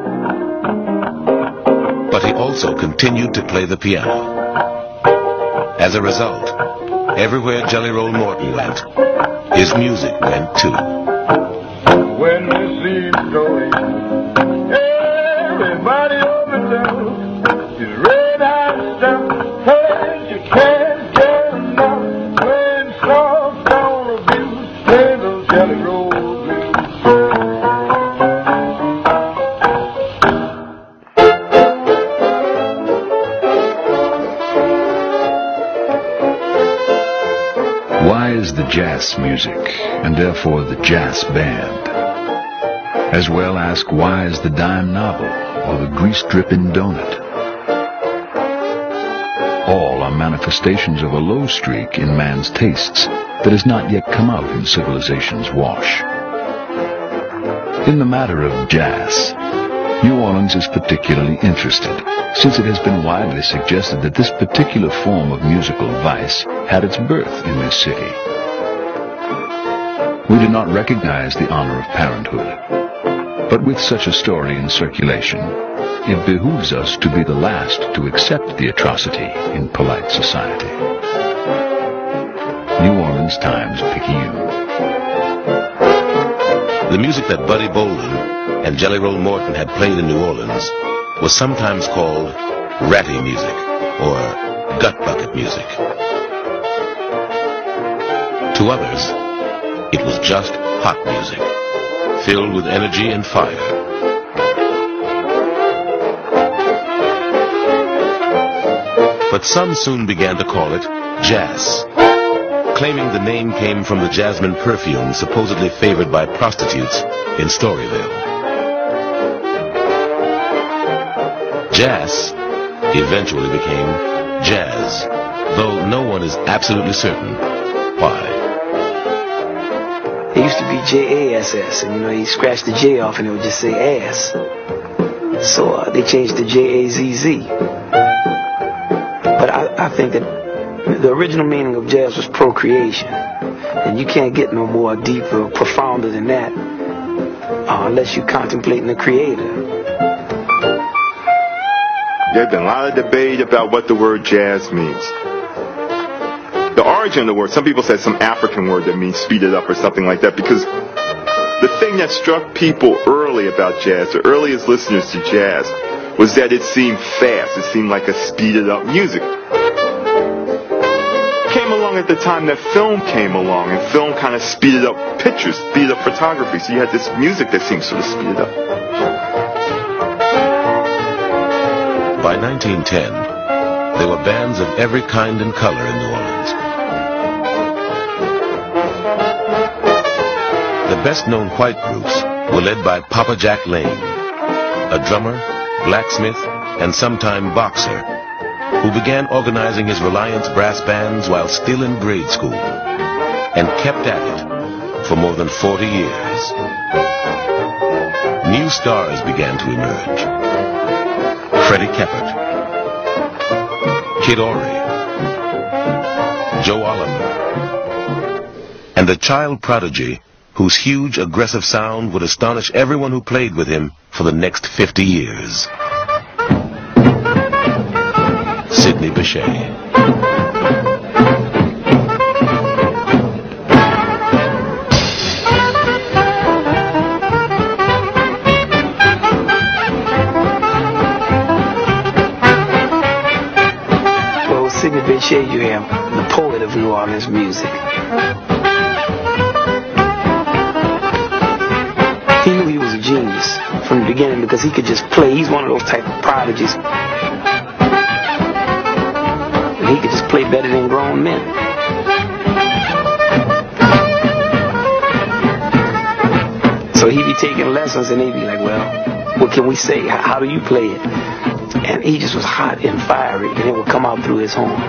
But he also continued to play the piano. As a result, everywhere Jelly Roll Morton went, his music went too. When you see him going, everybody overloads his red-eyed stuff. Hey, you can't get enough. Playing soft on the blues, play those Jelly Roll blues. Why is the jazz music, and therefore the jazz band? As well ask, why is the dime novel or the grease-dripping donut? All are manifestations of a low streak in man's tastes, that has not yet come out in civilization's wash. In the matter of jazz, New Orleans is particularly interested, since it has been widely suggested that this particular form of musical vice had its birth in this city. We do not recognize the honor of parenthood, but with such a story in circulation, it behooves us to be the last to accept the atrocity in polite society. New Orleans Times-Picayune. The music that Buddy Bolden and Jelly Roll Morton had played in New Orleans was sometimes called ratty music or gut bucket music. To others, it was just hot music, filled with energy and fire. But some soon began to call it jazz, claiming the name came from the jasmine perfume supposedly favored by prostitutes in Storyville. Jazz eventually became jazz, though no one is absolutely certain why. It used to be J A S S, and you know, you scratch the J off and it would just say ass. So uh, they changed to J A Z Z. But I, I think that the original meaning of jazz was procreation. And you can't get no more deeper or profounder than that uh, unless you're contemplating the creator. There's been a lot of debate about what the word jazz means. The origin of the word, some people said some African word that means speed it up or something like that, because the thing that struck people early about jazz, the earliest listeners to jazz, was that it seemed fast. It seemed like a speeded up music. Came along at the time that film came along, and film kind of speeded up pictures, speeded up photography, so you had this music that seemed sort of speeded up. By nineteen ten, there were bands of every kind and color in New Orleans. The best-known white groups were led by Papa Jack Lane, a drummer, blacksmith, and sometime boxer, who began organizing his Reliance brass bands while still in grade school, and kept at it for more than forty years. New stars began to emerge. Freddie Keppert, Kid Ory, Joe Oliver, and the child prodigy whose huge, aggressive sound would astonish everyone who played with him for the next fifty years. Sidney Bechet. Sidney Bechet, you have the poet of New Orleans music. He knew he was a genius from the beginning because he could just play. He's one of those type of prodigies. And he could just play better than grown men. So he'd be taking lessons and they'd be like, well, what can we say? How do you play it? And he just was hot and fiery, and it would come out through his horn.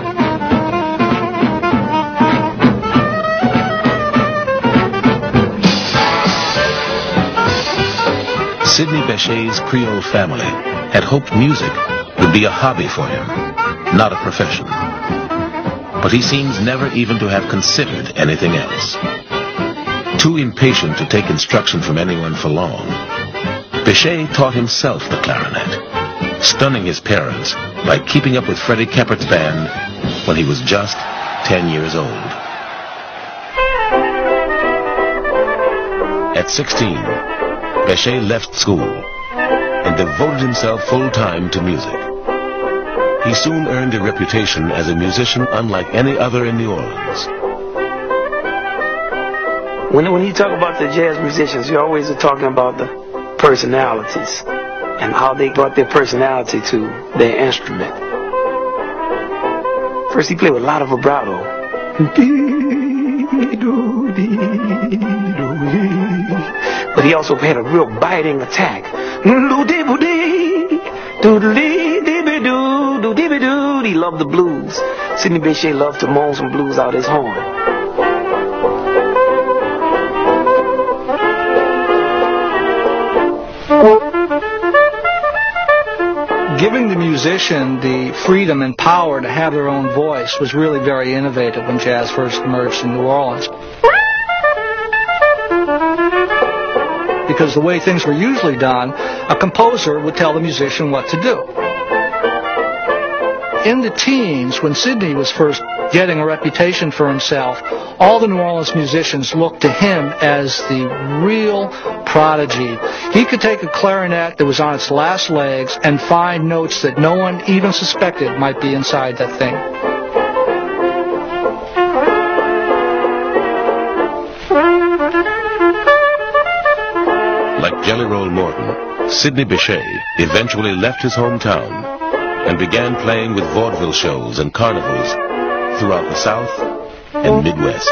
Sidney Bechet's Creole family had hoped music would be a hobby for him, not a profession. But he seems never even to have considered anything else. Too impatient to take instruction from anyone for long, Bechet taught himself the clarinet, stunning his parents by keeping up with Freddie Keppert's band when he was just ten years old. At sixteen, Bechet left school and devoted himself full-time to music. He soon earned a reputation as a musician unlike any other in New Orleans. When, when you talk about the jazz musicians, you always are talking about the personalities and how they brought their personality to their instrument. First, he played with a lot of vibrato. But he also had a real biting attack. He loved the blues. Sidney Bechet loved to moan some blues out his horn. giving the musician the freedom and power to have their own voice was really very innovative when jazz first emerged in New Orleans. Because the way things were usually done, a composer would tell the musician what to do. In the teens, when Sidney was first getting a reputation for himself, all the New Orleans musicians looked to him as the real prodigy. He could take a clarinet that was on its last legs and find notes that no one even suspected might be inside that thing. Like Jelly Roll Morton, Sidney Bechet eventually left his hometown and began playing with vaudeville shows and carnivals throughout the South and Midwest.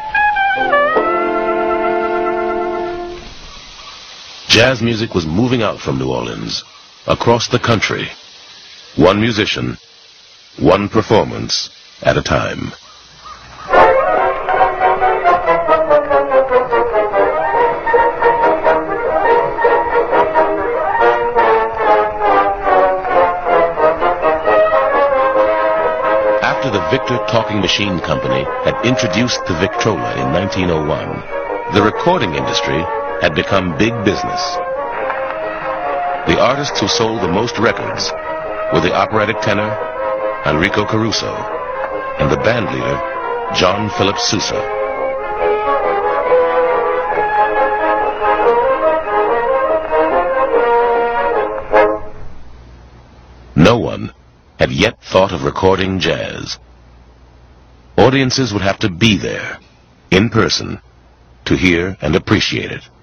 Jazz music was moving out from New Orleans, across the country, one musician, one performance at a time. After the Victor Talking Machine Company had introduced the Victrola in nineteen oh one, the recording industry had become big business. The artists who sold the most records were the operatic tenor Enrico Caruso and the band leader John Philip Sousa. No one had yet thought of recording jazz. Audiences would have to be there, in person, to hear and appreciate it.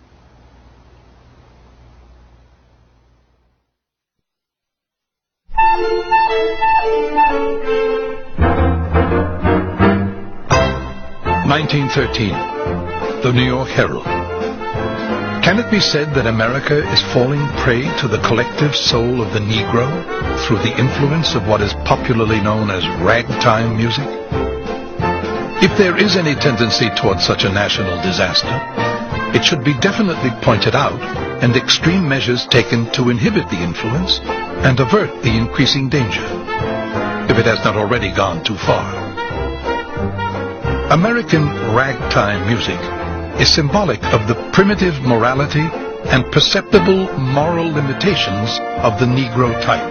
nineteen thirteen, the New York Herald. Can it be said that America is falling prey to the collective soul of the Negro through the influence of what is popularly known as ragtime music? If there is any tendency towards such a national disaster, it should be definitely pointed out and extreme measures taken to inhibit the influence and avert the increasing danger, if it has not already gone too far. American ragtime music is symbolic of the primitive morality and perceptible moral limitations of the Negro type.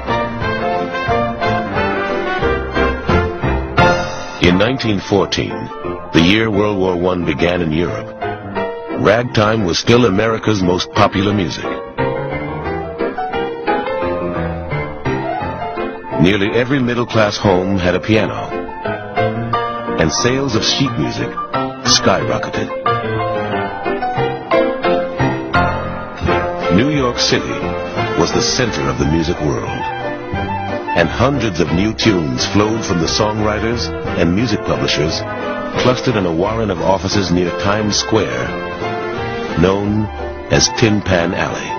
In nineteen fourteen, the year World War One began in Europe, ragtime was still America's most popular music. Nearly every middle-class home had a piano, and sales of sheet music skyrocketed. New York City was the center of the music world, and hundreds of new tunes flowed from the songwriters and music publishers clustered in a warren of offices near Times Square, known as Tin Pan Alley.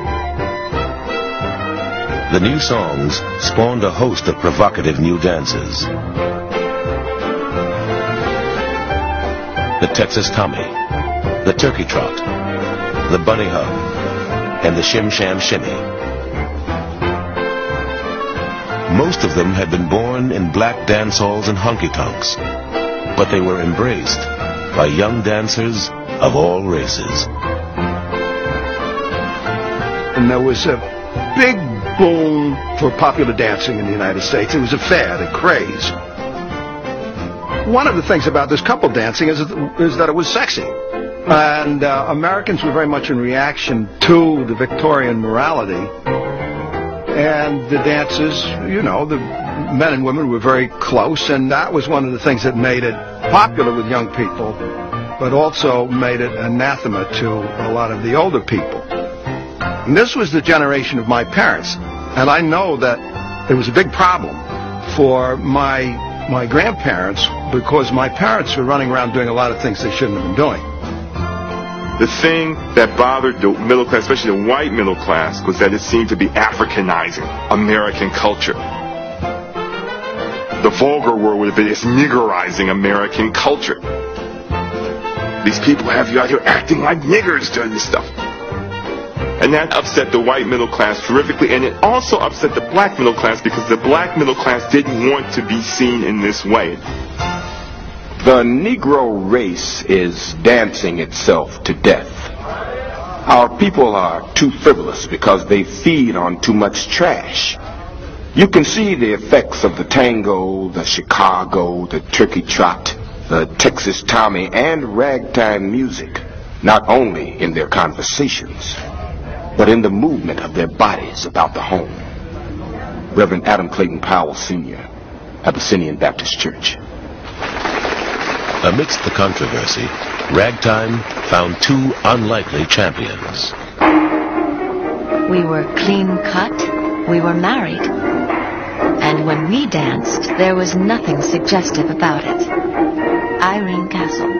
The new songs spawned a host of provocative new dances. The Texas Tommy, the Turkey Trot, the Bunny Hug, and the Shim Sham Shimmy. Most of them had been born in black dance halls and honky-tonks, but they were embraced by young dancers of all races. And there was a big boom for popular dancing in the United States. It was a fad, a craze. One of the things about this couple dancing is, is that it was sexy. And uh, Americans were very much in reaction to the Victorian morality. And the dances, you know, the men and women were very close, and that was one of the things that made it popular with young people, but also made it anathema to a lot of the older people. And this was the generation of my parents, and I know that it was a big problem for my my grandparents, because my parents were running around doing a lot of things they shouldn't have been doing. The thing that bothered the middle class, especially the white middle class, was that it seemed to be Africanizing American culture. The vulgar word would have been it's niggerizing American culture. These people have you out here acting like niggers doing this stuff. And that upset the white middle class terrifically, and it also upset the black middle class because the black middle class didn't want to be seen in this way. The Negro race is dancing itself to death. Our people are too frivolous because they feed on too much trash. You can see the effects of the tango, the Chicago, the turkey trot, the Texas Tommy, and ragtime music, not only in their conversations, but in the movement of their bodies about the home. Reverend Adam Clayton Powell, Senior, Abyssinian Baptist Church. Amidst the controversy, ragtime found two unlikely champions. We were clean cut, we were married, and when we danced, there was nothing suggestive about it. Irene Castle.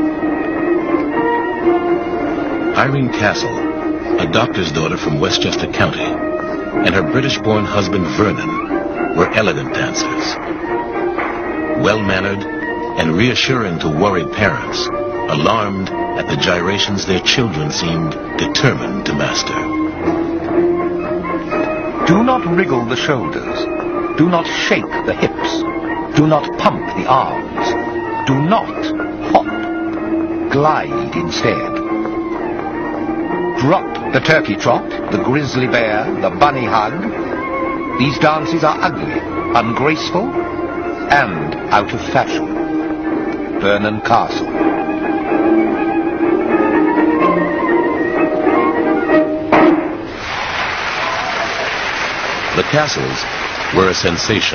Irene Castle, a doctor's daughter from Westchester County, and her British-born husband Vernon were elegant dancers. Well-mannered and reassuring to worried parents, alarmed at the gyrations their children seemed determined to master. Do not wriggle the shoulders. Do not shake the hips. Do not pump the arms. Do not hop. Glide instead. Drop the turkey trot, the grizzly bear, the bunny hug. These dances are ugly, ungraceful, and out of fashion. Vernon Castle. The Castles were a sensation,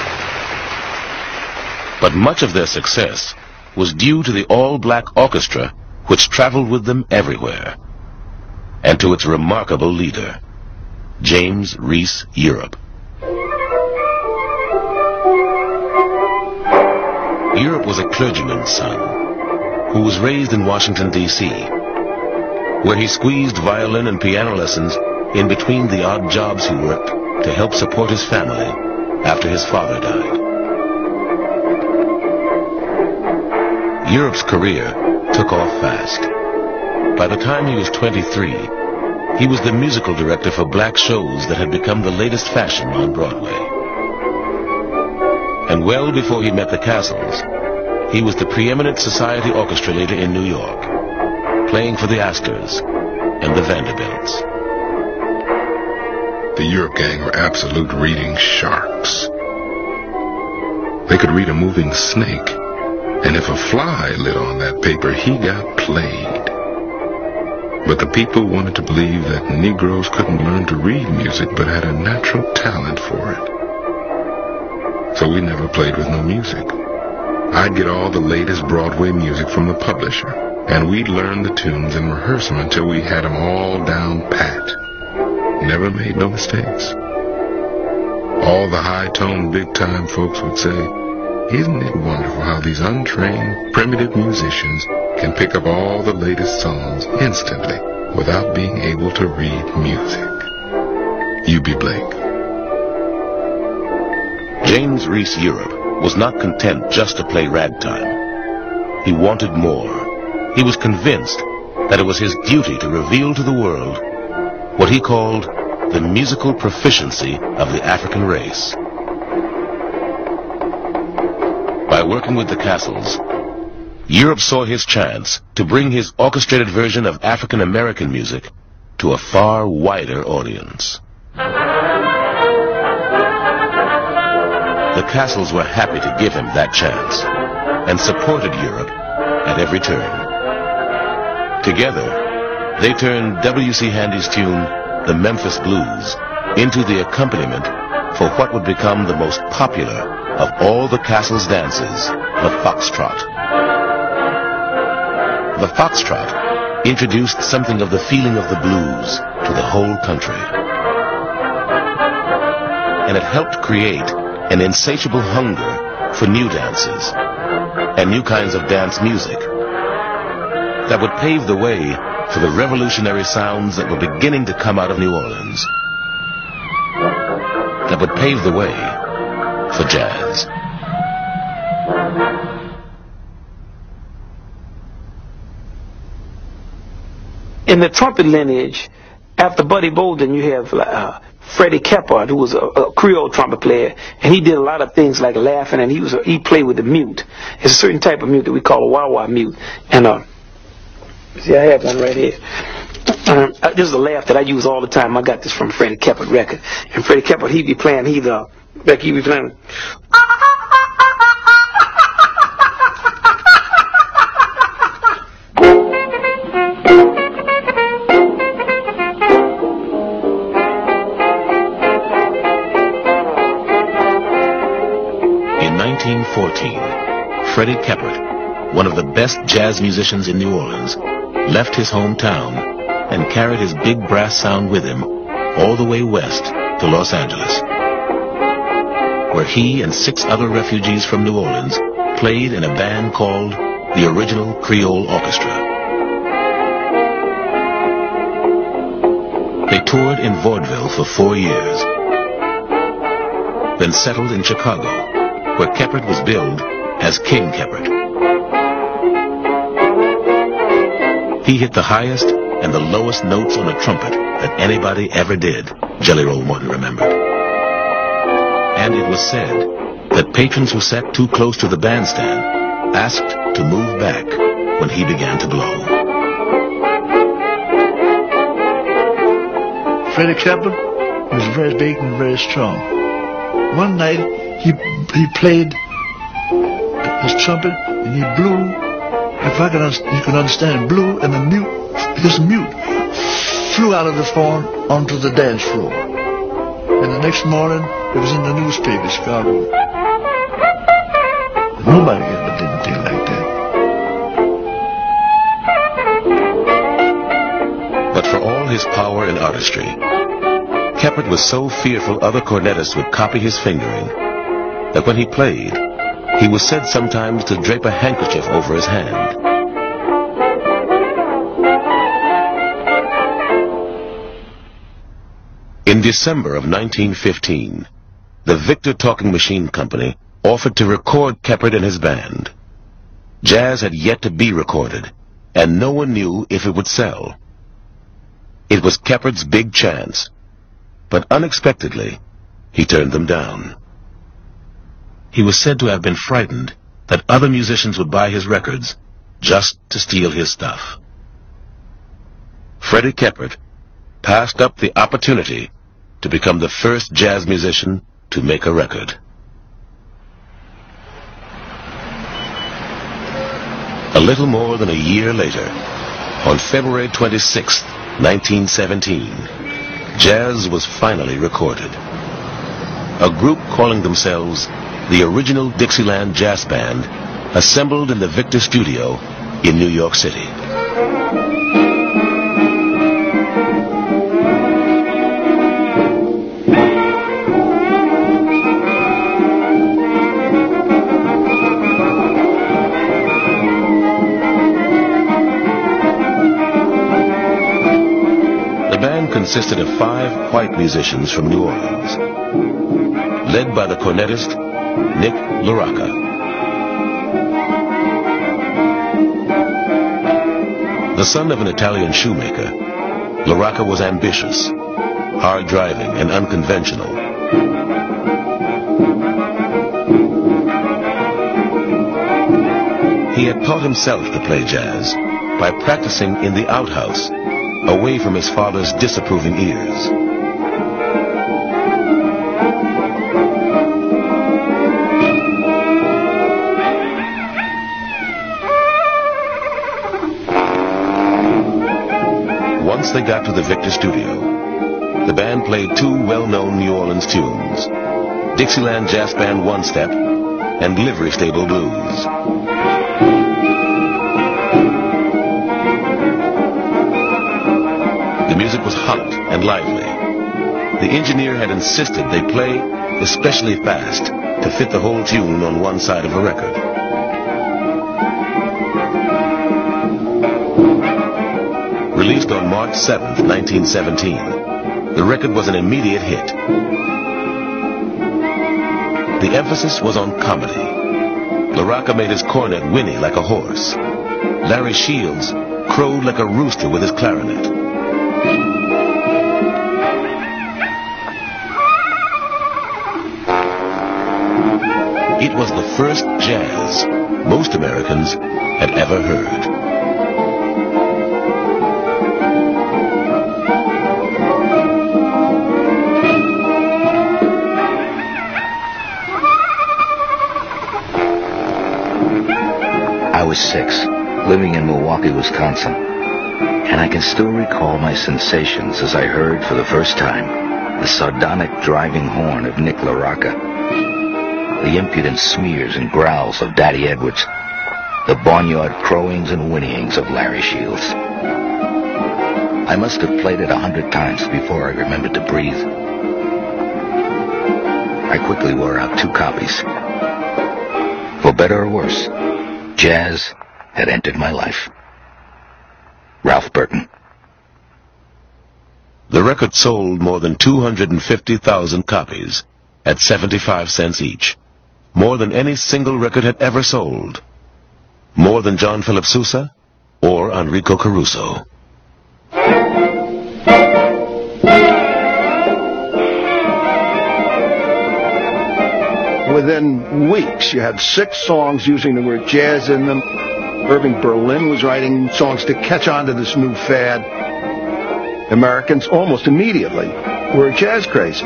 but much of their success was due to the all-black orchestra which traveled with them everywhere, and to its remarkable leader, James Reese Europe. Europe was a clergyman's son who was raised in Washington, D C, where he squeezed violin and piano lessons in between the odd jobs he worked to help support his family after his father died. Europe's career took off fast. By the time he was twenty-three, he was the musical director for black shows that had become the latest fashion on Broadway. And well before he met the Castles, he was the preeminent society orchestra leader in New York, playing for the Astors and the Vanderbilts. The Europe gang were absolute reading sharks. They could read a moving snake, and if a fly lit on that paper, he got played. But the people wanted to believe that Negroes couldn't learn to read music but had a natural talent for it. So we never played with no music. I'd get all the latest Broadway music from the publisher, and we'd learn the tunes and rehearse them until we had them all down pat. Never made no mistakes. All the high-toned, big-time folks would say, "Isn't it wonderful how these untrained, primitive musicians can pick up all the latest songs instantly without being able to read music?" U B Blake. James Reese Europe was not content just to play ragtime. He wanted more. He was convinced that it was his duty to reveal to the world what he called the musical proficiency of the African race. By working with the Castles, Europe saw his chance to bring his orchestrated version of African American music to a far wider audience. The Castles were happy to give him that chance and supported Europe at every turn. Together, they turned W C Handy's tune, The Memphis Blues, into the accompaniment for what would become the most popular of all the Castles' dances, the foxtrot. The foxtrot introduced something of the feeling of the blues to the whole country. And it helped create an insatiable hunger for new dances and new kinds of dance music that would pave the way for the revolutionary sounds that were beginning to come out of New Orleans, that would pave the way for jazz. In the trumpet lineage, after Buddy Bolden, you have uh, Freddie Keppard, who was a, a Creole trumpet player, and he did a lot of things like laughing, and he was a, he played with the mute. It's a certain type of mute that we call a wah-wah mute. And uh, see, I have one right here. Um, uh, this is a laugh that I use all the time. I got this from Freddie Keppard record. And Freddie Keppard, he'd be playing, he'd uh, like he'd be playing. nineteen fourteen, Freddie Keppard, one of the best jazz musicians in New Orleans, left his hometown and carried his big brass sound with him all the way west to Los Angeles, where he and six other refugees from New Orleans played in a band called the Original Creole Orchestra. They toured in vaudeville for four years, then settled in Chicago, where Keppard was billed as King Keppard. He hit the highest and the lowest notes on a trumpet that anybody ever did, Jelly Roll Morton remembered. And it was said that patrons who sat too close to the bandstand asked to move back when he began to blow. Freddie Keppard was very big and very strong. One night, He he played his trumpet and he blew. If I can, you can understand, blew and the mute, his mute, flew out of the phone onto the dance floor. And the next morning, it was in the newspaper, Chicago. Nobody ever did anything like that. But for all his power and artistry, Keppard was so fearful other cornetists would copy his fingering that when he played, he was said sometimes to drape a handkerchief over his hand. In December of nineteen fifteen, the Victor Talking Machine Company offered to record Keppard and his band. Jazz had yet to be recorded, and no one knew if it would sell. It was Keppard's big chance, but unexpectedly, he turned them down. He was said to have been frightened that other musicians would buy his records just to steal his stuff. Freddie Keppard passed up the opportunity to become the first jazz musician to make a record. A little more than a year later, on February twenty-sixth, nineteen seventeen, jazz was finally recorded. A group calling themselves the Original Dixieland Jazz Band assembled in the Victor Studio in New York City. The band consisted of five white musicians from New Orleans, led by the cornetist Nick LaRocca. The son of an Italian shoemaker, LaRocca was ambitious, hard-driving, and unconventional. He had taught himself to play jazz by practicing in the outhouse, away from his father's disapproving ears. Once they got to the Victor Studio, the band played two well-known New Orleans tunes, Dixieland Jazz Band One Step and Livery Stable Blues. The music was hot and lively. The engineer had insisted they play especially fast to fit the whole tune on one side of a record. Released on March seventh, nineteen seventeen, the record was an immediate hit. The emphasis was on comedy. LaRocca made his cornet whinny like a horse. Larry Shields crowed like a rooster with his clarinet. first jazz most Americans had ever heard. I was six, living in Milwaukee, Wisconsin, and I can still recall my sensations as I heard for the first time the sardonic driving horn of Nick LaRocca, the impudent smears and growls of Daddy Edwards, the barnyard crowings and whinnyings of Larry Shields. I must have played it a hundred times before I remembered to breathe. I quickly wore out two copies. For better or worse, jazz had entered my life. Ralph Burton. The record sold more than two hundred fifty thousand copies at seventy-five cents each. More than any single record had ever sold. More than John Philip Sousa or Enrico Caruso. Within weeks, you had six songs using the word jazz in them. Irving Berlin was writing songs to catch on to this new fad. Americans almost immediately were jazz crazy.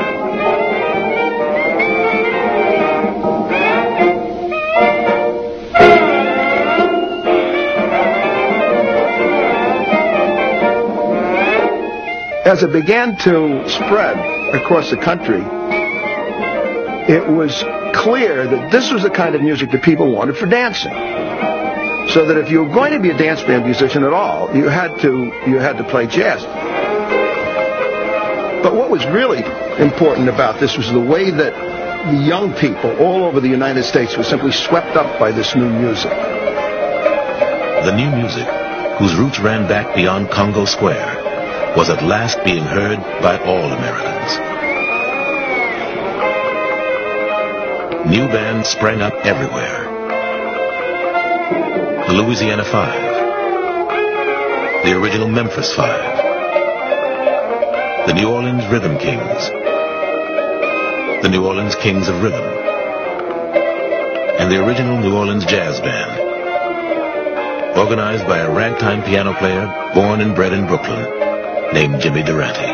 As it began to spread across the country, it was clear that this was the kind of music that people wanted for dancing. So that if you were going to be a dance band musician at all, you had to you had to play jazz. But what was really important about this was the way that the young people all over the United States were simply swept up by this new music. The new music, whose roots ran back beyond Congo Square, was at last being heard by all Americans. New bands sprang up everywhere. The Louisiana Five, the original Memphis Five, the New Orleans Rhythm Kings, the New Orleans Kings of Rhythm, and the original New Orleans Jazz Band, organized by a ragtime piano player born and bred in Brooklyn named Jimmy Durante.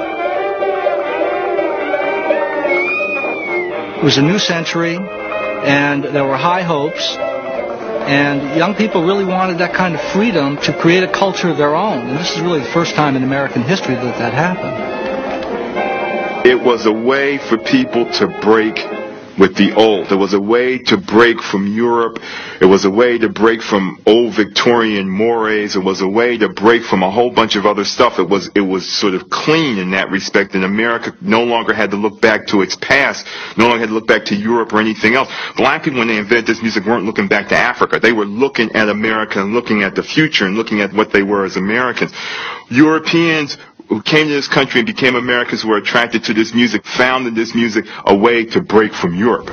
It was a new century, and there were high hopes. And young people really wanted that kind of freedom to create a culture of their own. And this is really the first time in American history that that happened. It was a way for people to break with the old. It was a way to break from Europe. It was a way to break from old Victorian mores. It was a way to break from a whole bunch of other stuff. It was it was sort of clean in that respect, and America no longer had to look back to its past, no longer had to look back to Europe or anything else. Black people, when they invented this music, weren't looking back to Africa. They were looking at America and looking at the future and looking at what they were as Americans. Europeans who came to this country and became Americans who were attracted to this music, found in this music a way to break from Europe.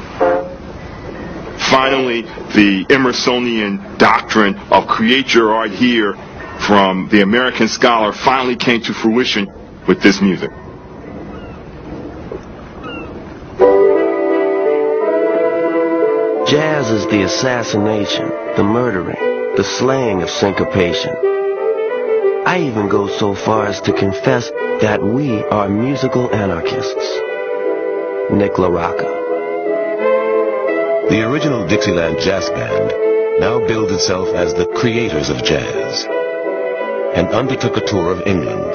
Finally, the Emersonian doctrine of create your art here from the American scholar finally came to fruition with this music. Jazz is the assassination, the murdering, the slaying of syncopation. I even go so far as to confess that we are musical anarchists. Nick LaRocca. The original Dixieland Jazz Band now bills itself as the creators of jazz and undertook a tour of England.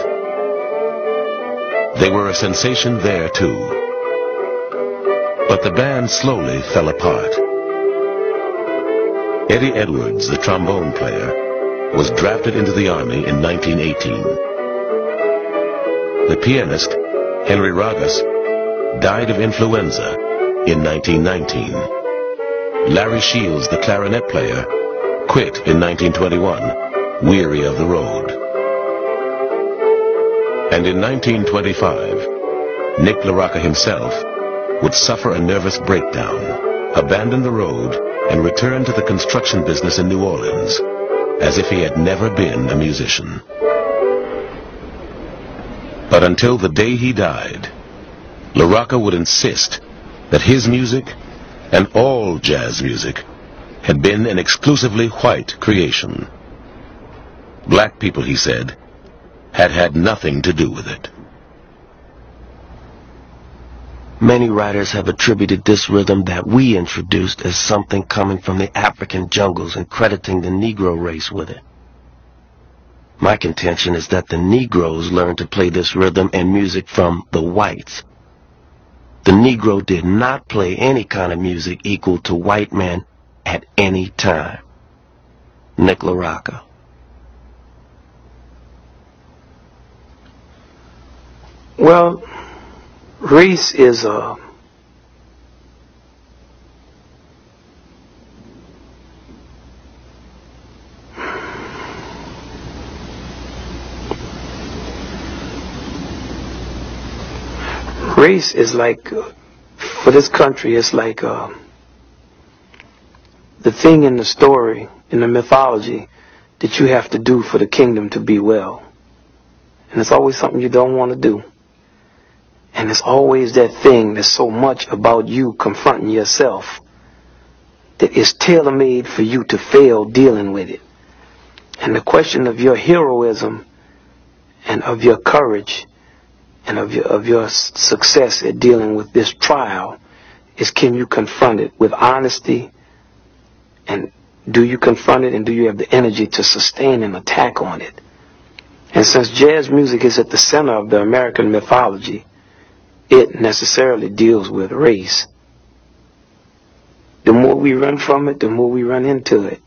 They were a sensation there too. But the band slowly fell apart. Eddie Edwards, the trombone player, was drafted into the Army in nineteen eighteen. The pianist, Henry Ragas, died of influenza in nineteen nineteen. Larry Shields, the clarinet player, quit in nineteen twenty-one, weary of the road. And in nineteen twenty-five, Nick LaRocca himself would suffer a nervous breakdown, abandon the road, and return to the construction business in New Orleans, as if he had never been a musician. But until the day he died, LaRocca would insist that his music and all jazz music had been an exclusively white creation. Black people, he said, had had nothing to do with it. Many writers have attributed this rhythm that we introduced as something coming from the African jungles and crediting the Negro race with it. My contention is that the Negroes learned to play this rhythm and music from the whites. The Negro did not play any kind of music equal to white men at any time. Nick LaRocca. Well, race is a race is like uh, for this country, it's like uh, the thing in the story, in the mythology, that you have to do for the kingdom to be well. And it's always something you don't want to do. And it's always that thing that's so much about you confronting yourself that is tailor-made for you to fail dealing with it. And the question of your heroism and of your courage and of your, of your success at dealing with this trial is, can you confront it with honesty? And do you confront it, and do you have the energy to sustain an attack on it? And since jazz music is at the center of the American mythology, it necessarily deals with race. The more we run from it, the more we run into it.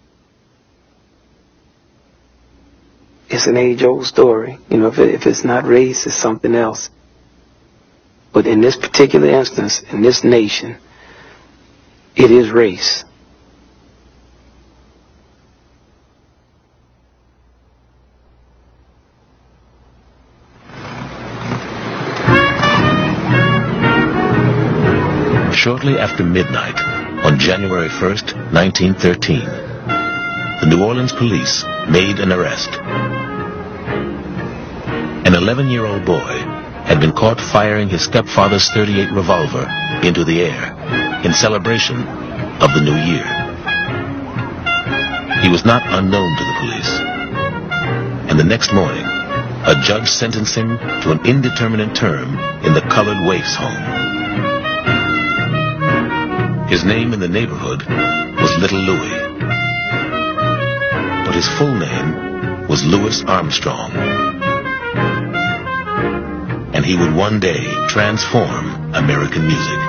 It's an age-old story. You know, if, it, if it's not race, it's something else. But in this particular instance, in this nation, it is race. Shortly after midnight, on January first, nineteen thirteen, the New Orleans police made an arrest. An eleven-year-old boy had been caught firing his stepfather's thirty-eight revolver into the air in celebration of the new year. He was not unknown to the police, and the next morning, a judge sentenced him to an indeterminate term in the colored waif's home. His name in the neighborhood was Little Louis, but his full name was Louis Armstrong. And he would one day transform American music.